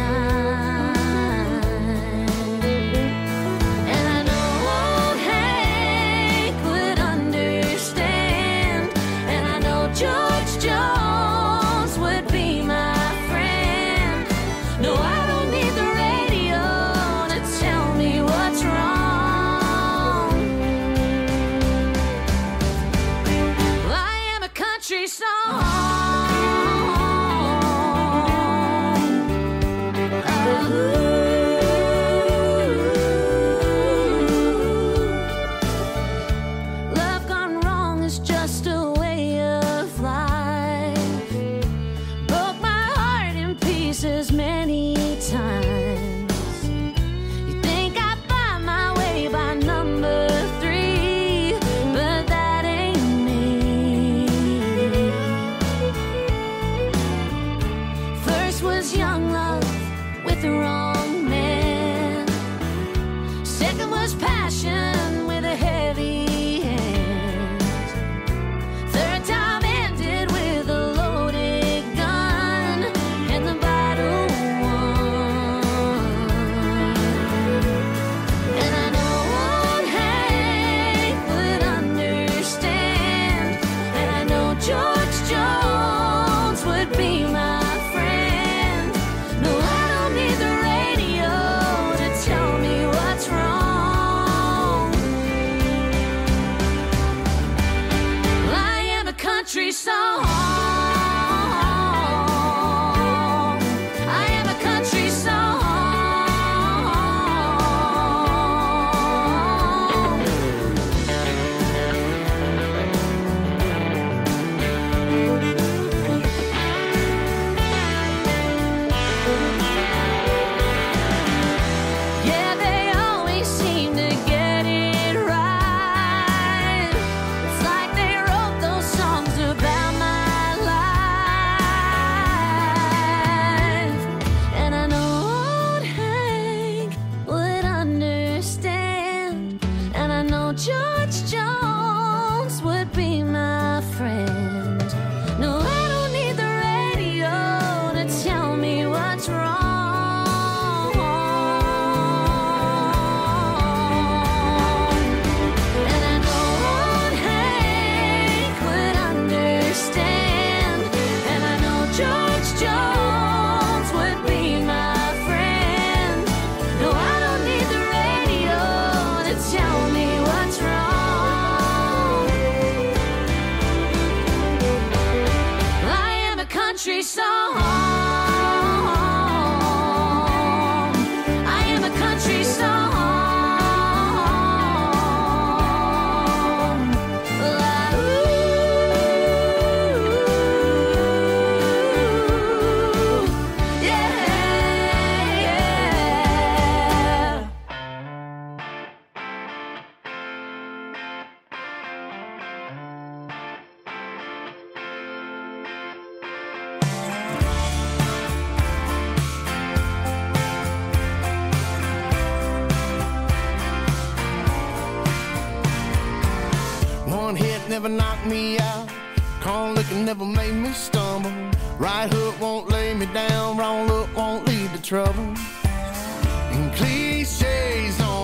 never knocked me out. Corn liquor never made me stumble. Right hook won't lay me down. Wrong look won't lead to trouble. And cliches don't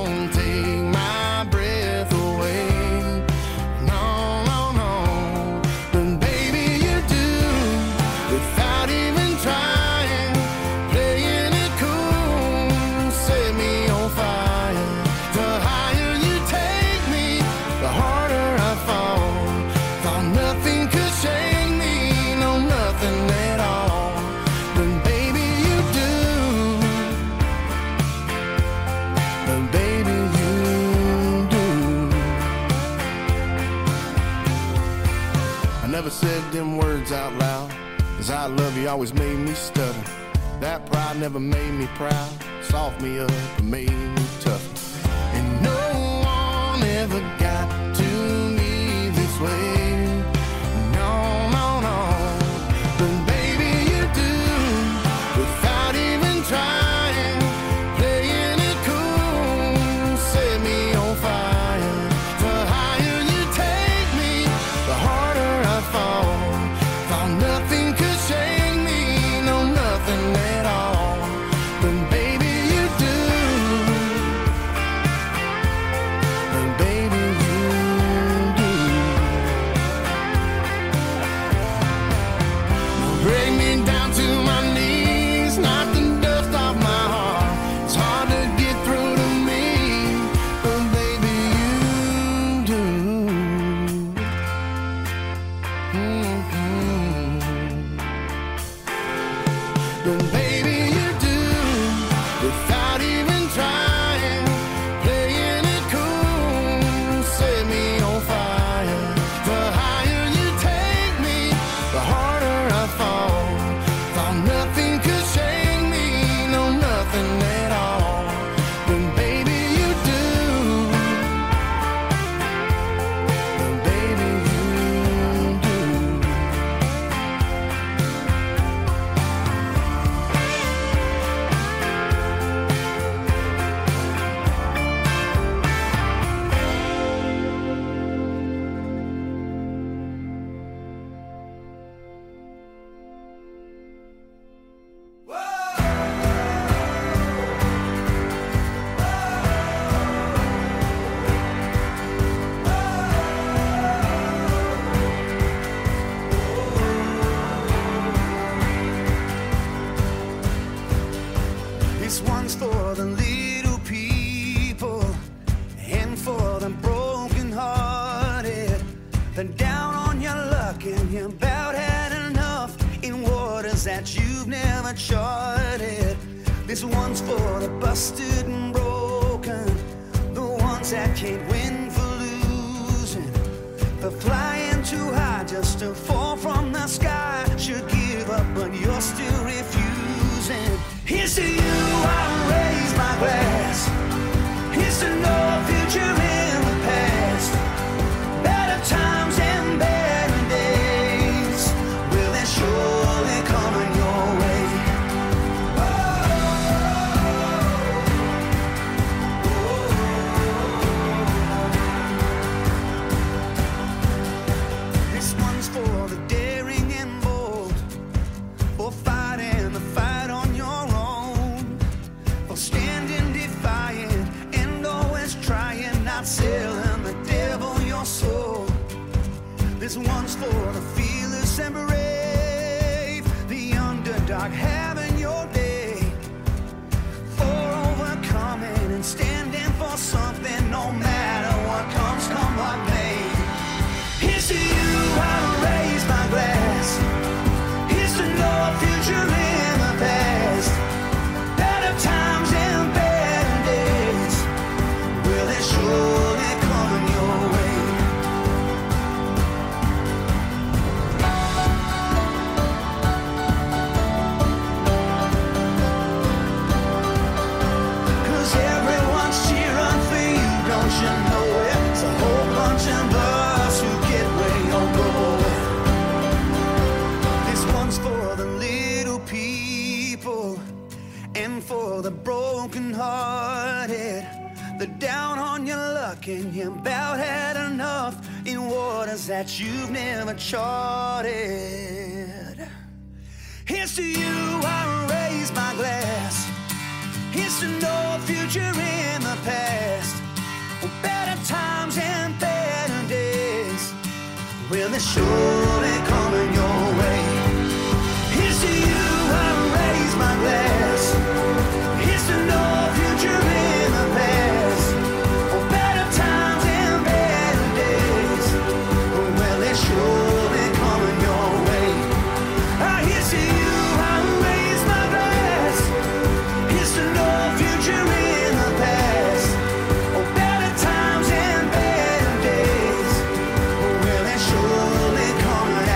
I never said them words out loud, 'cause I love you always made me stutter. That pride never made me proud, soft me up and made me tough. And no one ever got to me this way. No, no, no. But baby, you do, without even trying. Playing it cool, set me on fire. The higher you take me, the harder I fall. Thought nothing could shake me, no nothing at all. But baby, you do. But baby, you do. Break me down to my knees, knock the dust off my heart. It's hard to get through to me, but baby, you do. But baby, you do, without even trying. Playing it cool, set me on fire. The higher you take me, the harder I fall. Thought nothing could shake me, no nothing at all. But baby, you do. But baby, you do. This one's for the little people and for the broken hearted. The down on your luck and you about had enough in waters that you've never charted. This one's for the busted and broken, the ones that can't win for losing, for flying too high just to fall from the sky. Should give up, but you're still refusing. Here's to you, I raise my glass. Here's to no future in the past. Better times and better days. Will they surely coming your way? This one's for the daring and bold, for fighting the fight on your own, for standing defiant and always trying, not selling the devil your soul. This one's for the fearless and brave, the underdog having your day, for overcoming and standing for something, no matter what comes, come what may. Here's to you, I raise my glass. Here's to no future in the past. Better times and better days. Will they surely come your way? Cause everyone's cheering for you, don't you know it? It's a whole bunch of us who get where you're going. This one's for the little people and for the broken hearted, the down on your luck and you about had enough in waters that you've never charted. Here's to you, I raise my glass. Here's to no future in the past, or better times and better days. Will they surely coming your way? Here's to you, I raise my glass. Here's to no future in the past, or better times and better days. Will they surely coming your way? Here's to you, I raise my glass. Here's to no future in the past, or better times and better days. Will they surely coming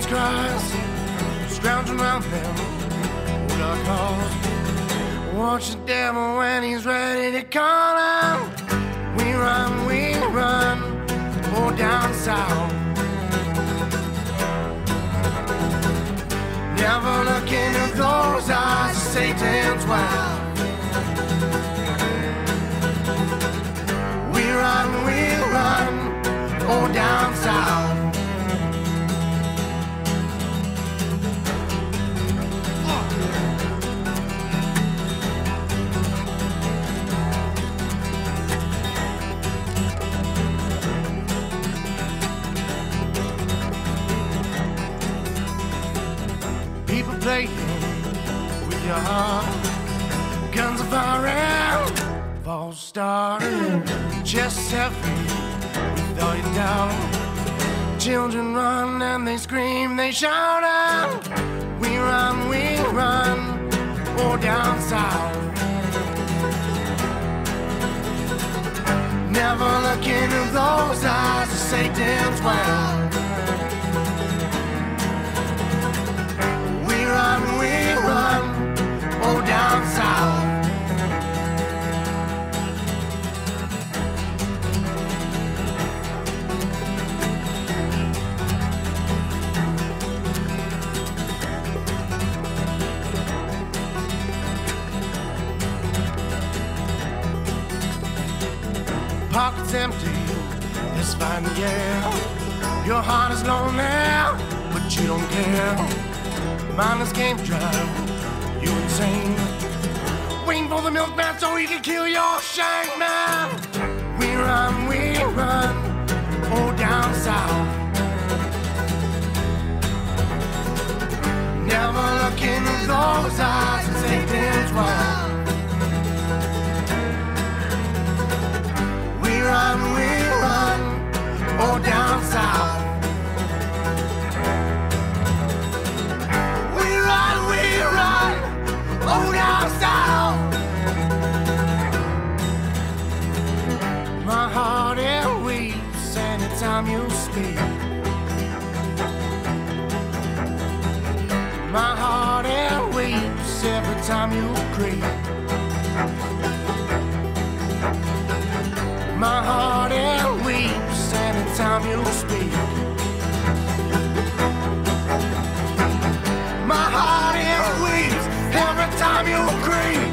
cries, scrounging around them old dark halls. Watch the devil when he's ready to call out. We run, oh down south. Never look into those eyes of Satan's well. We run, oh down south. People playing with your heart. Guns are firing, false start. Chests heavy with all your doubt. Children run and they scream, they shout out. We run, oh down south. Never look into those eyes of Satan's well. We run, oh down south. Pockets empty, this fine yeah. Your heart is lonely, but you don't care. Mindless game drive, you insane. Waiting for the milkman so he can kill your shank man. We run, oh down south. Never look into those eyes and Satan's well. We run, oh down south. We run, oh down south. My heart it weeps anytime you speak. My heart it weeps every time you creep. My heart it weeps anytime you speak. My heart it weeps every time you creep.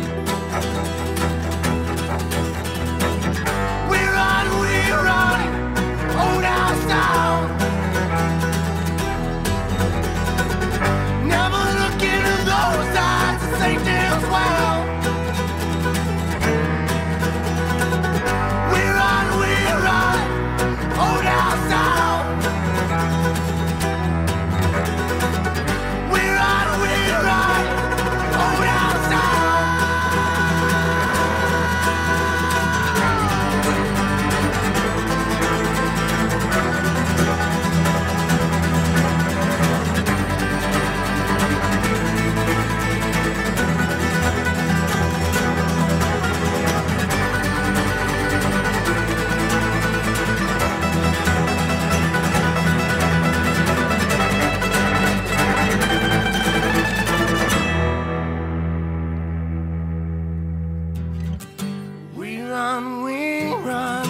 We run, oh down south. Never look into those eyes and say damn well. We run, oh down south. We run, oh down south. We run,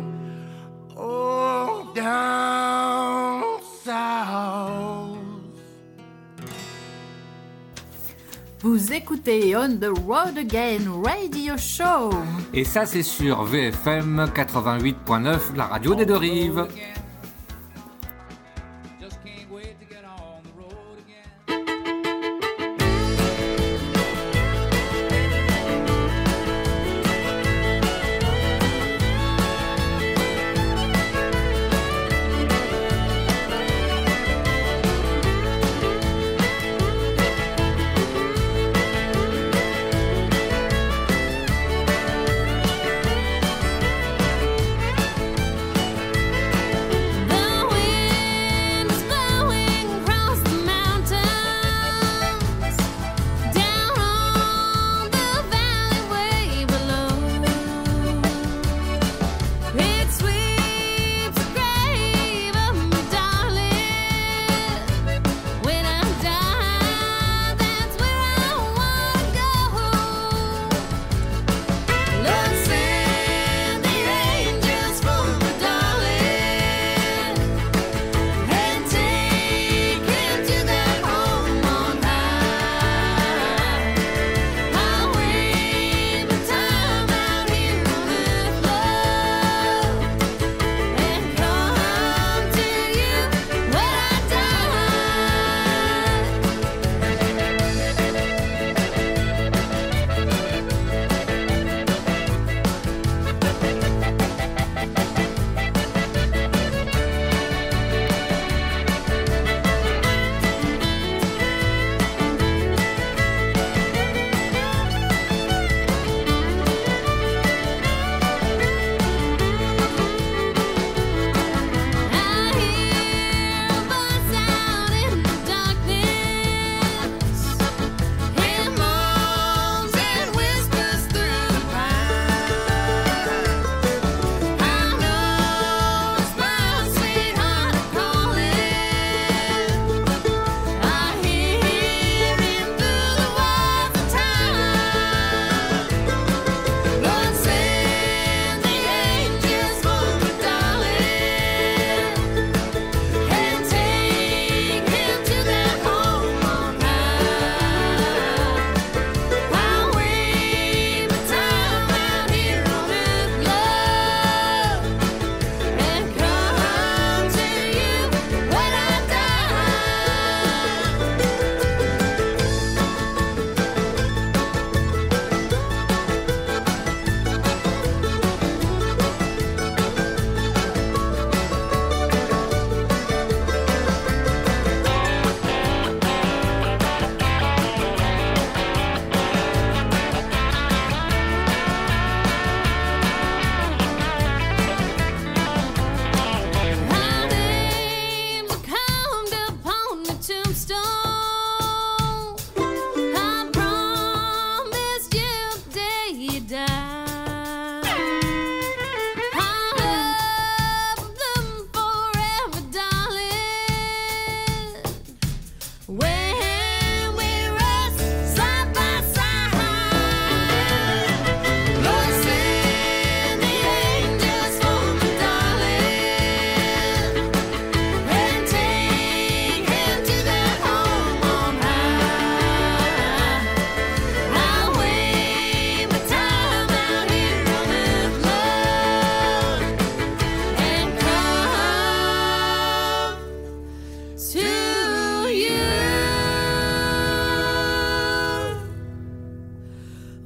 oh down south. Vous écoutez On the Road Again Radio Show. Et ça, c'est sur VFM 88.9, la radio des deux rives.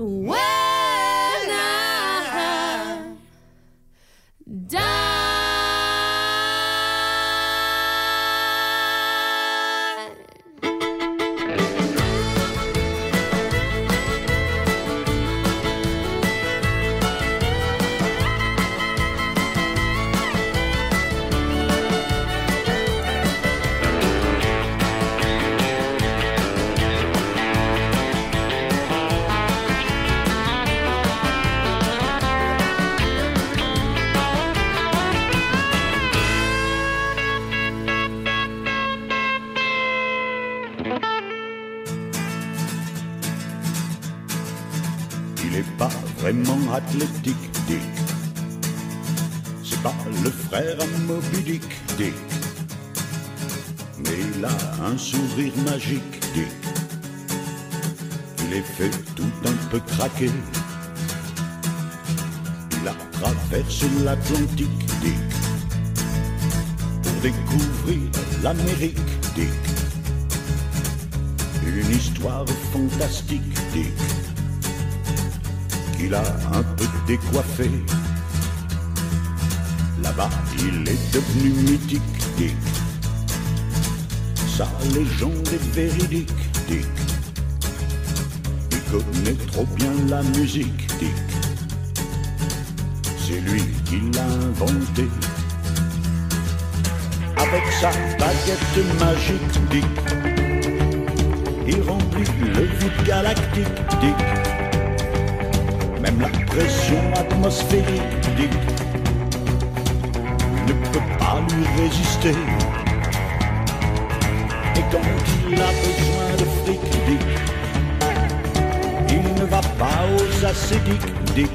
when I die. Il est pas vraiment athlétique, Dick. C'est pas le frère à Moby Dick, Dick. Mais il a un sourire magique, Dick. Il est fait tout un peu craquer. Il a traversé l'Atlantique, Dick, pour découvrir l'Amérique, Dick. Une histoire fantastique, Dick, qu'il a un peu décoiffé. Là-bas, il est devenu mythique, Dick. Sa légende est véridique, Dick. Il connaît trop bien la musique, Dick. C'est lui qui l'a inventé. Avec sa baguette magique, Dick, il remplit le vide galactique, Dick. Même la pression atmosphérique, Dick, ne peut pas lui résister. Et quand il a besoin de fric, Dick, il ne va pas aux acédiques, Dick.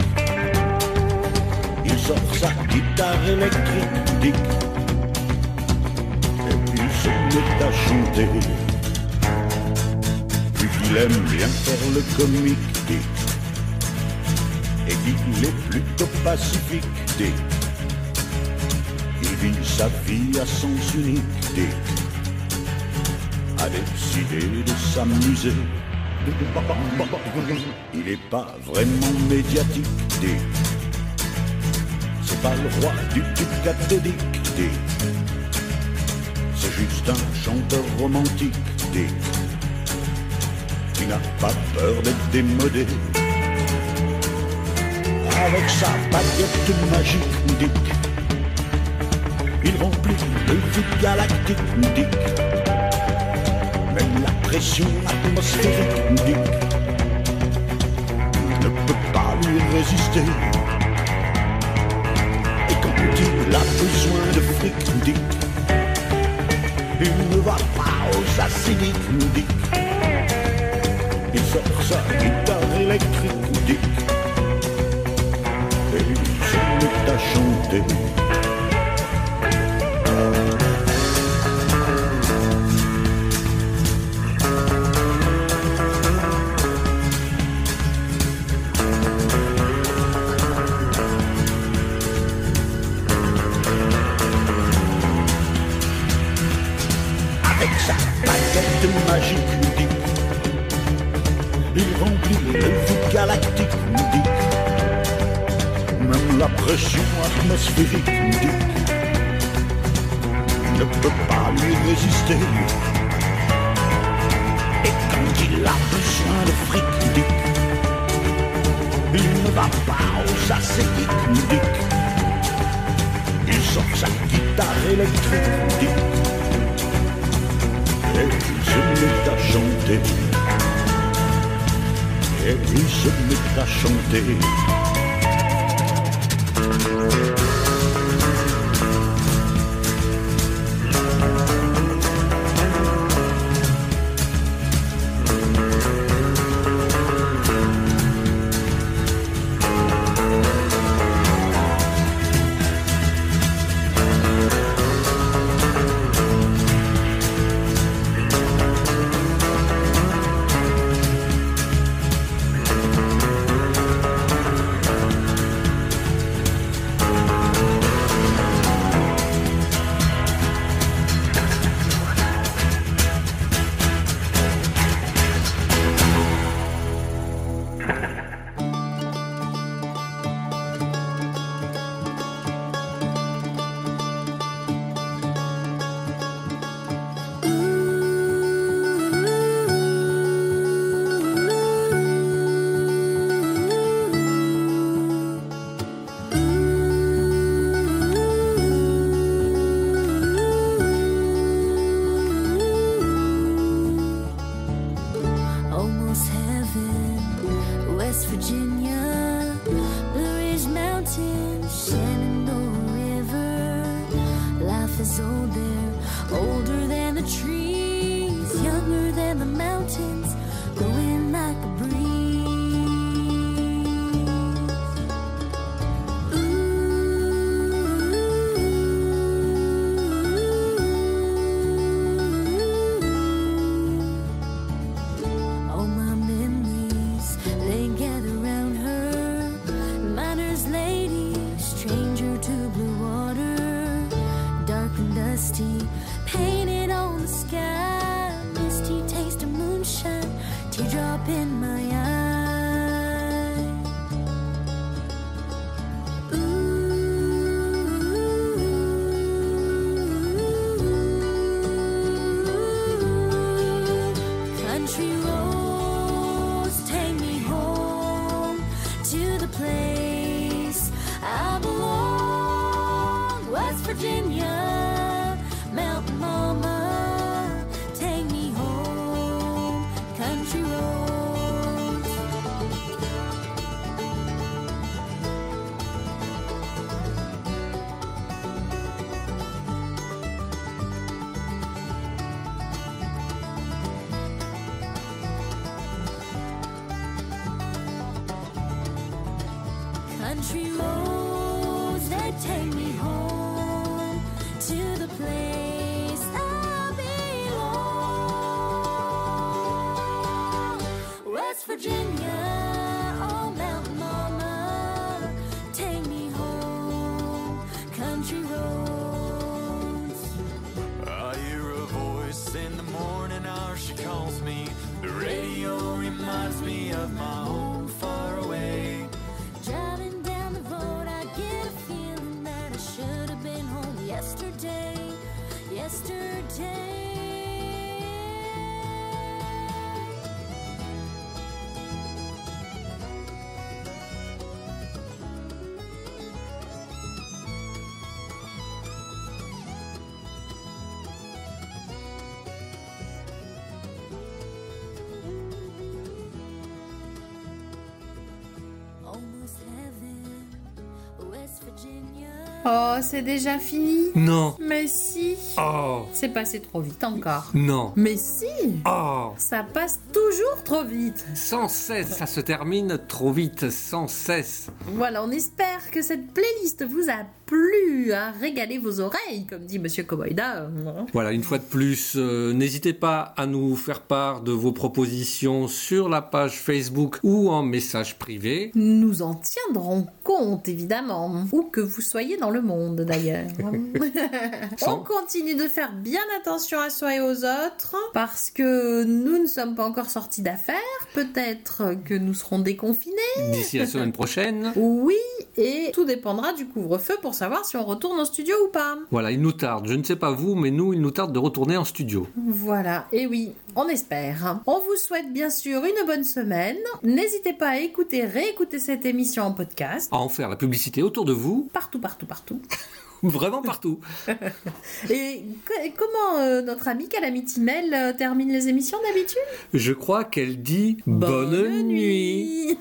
Il sort sa guitare électrique, Dick, et puis se met à chanter. Vu qu'il aime bien faire le comique, Dick, et qu'il est plutôt pacifique, Dick, il vit sa vie à sens unique, Dick, a décidé de s'amuser. Il est pas vraiment médiatique, Dick. C'est pas le roi du tube cathodique, Dick. C'est juste un chanteur romantique, Dick, qui n'a pas peur d'être démodé. Avec sa baguette magique, Dick, il remplit le vide galactique, Dick. Même la pression atmosphérique, Dick, ne peut pas lui résister. Et quand il a besoin de fric, Dick, il ne va pas aux acédiques, Dick. Il sort sa guitare électrique, Dick, et il se met à chanter. Avec sa baguette magique, Dick, il remplit le vide galactique, Dick. Même la pression atmosphérique, Dick, ne peut pas lui résister. Et quand il a besoin de fric, Dick, il ne va pas aux acédiques, Dick. Il sort sa guitare électrique, Dick, et il se met à chanter. Et il se met à chanter. West Virginia, Blue Ridge Mountains, Shenandoah River. Life is old there, older than the trees, younger than the mountains, blowing like a breeze. All my memories, they gather round her. Miner's lady, stranger to blue water, dark and dusty, painted on the sky. Misty taste of moonshine, teardrop in my eye. Country roads take me home to the place I belong. West Virginia, Mountain Mama, take me home. Country roads. Country roads that take me home to the place I belong. West Virginia, oh Mountain Mama, take me home. Country roads. I hear a voice in the morning hour, she calls me. The radio reminds me of my home far away. Driving down the road, I get a feeling that I should have been home yesterday. Yesterday. Almost heaven, West Virginia. Oh, c'est déjà fini? Non. Mais si. Oh. C'est passé trop vite encore. Non. Mais si. Oh. Ça passe toujours trop vite. Sans cesse, ça se termine trop vite, sans cesse. Voilà, on espère que cette playlist vous a plu, a régalé vos oreilles, comme dit Monsieur Koboïda. Voilà, une fois de plus, n'hésitez pas à nous faire part de vos propositions sur la page Facebook ou en message privé. Nous en tiendrons compte, évidemment. Où que vous soyez dans le monde, d'ailleurs. On continue de faire bien attention à soi et aux autres, parce que nous ne sommes pas encore sortis d'affaires. Peut-être que nous serons déconfinés. D'ici la semaine prochaine. Oui, et tout dépendra du couvre-feu pour savoir si on retourne en studio ou pas. Voilà, il nous tarde. Je ne sais pas vous, mais nous, il nous tarde de retourner en studio. Voilà, et oui, on espère. On vous souhaite bien sûr une bonne semaine. N'hésitez pas à écouter, réécouter cette émission en podcast. À en faire la publicité autour de vous. Partout, partout, partout. Vraiment partout. Et comment notre amie Calamity Mel termine les émissions d'habitude? Je crois qu'elle dit bonne nuit.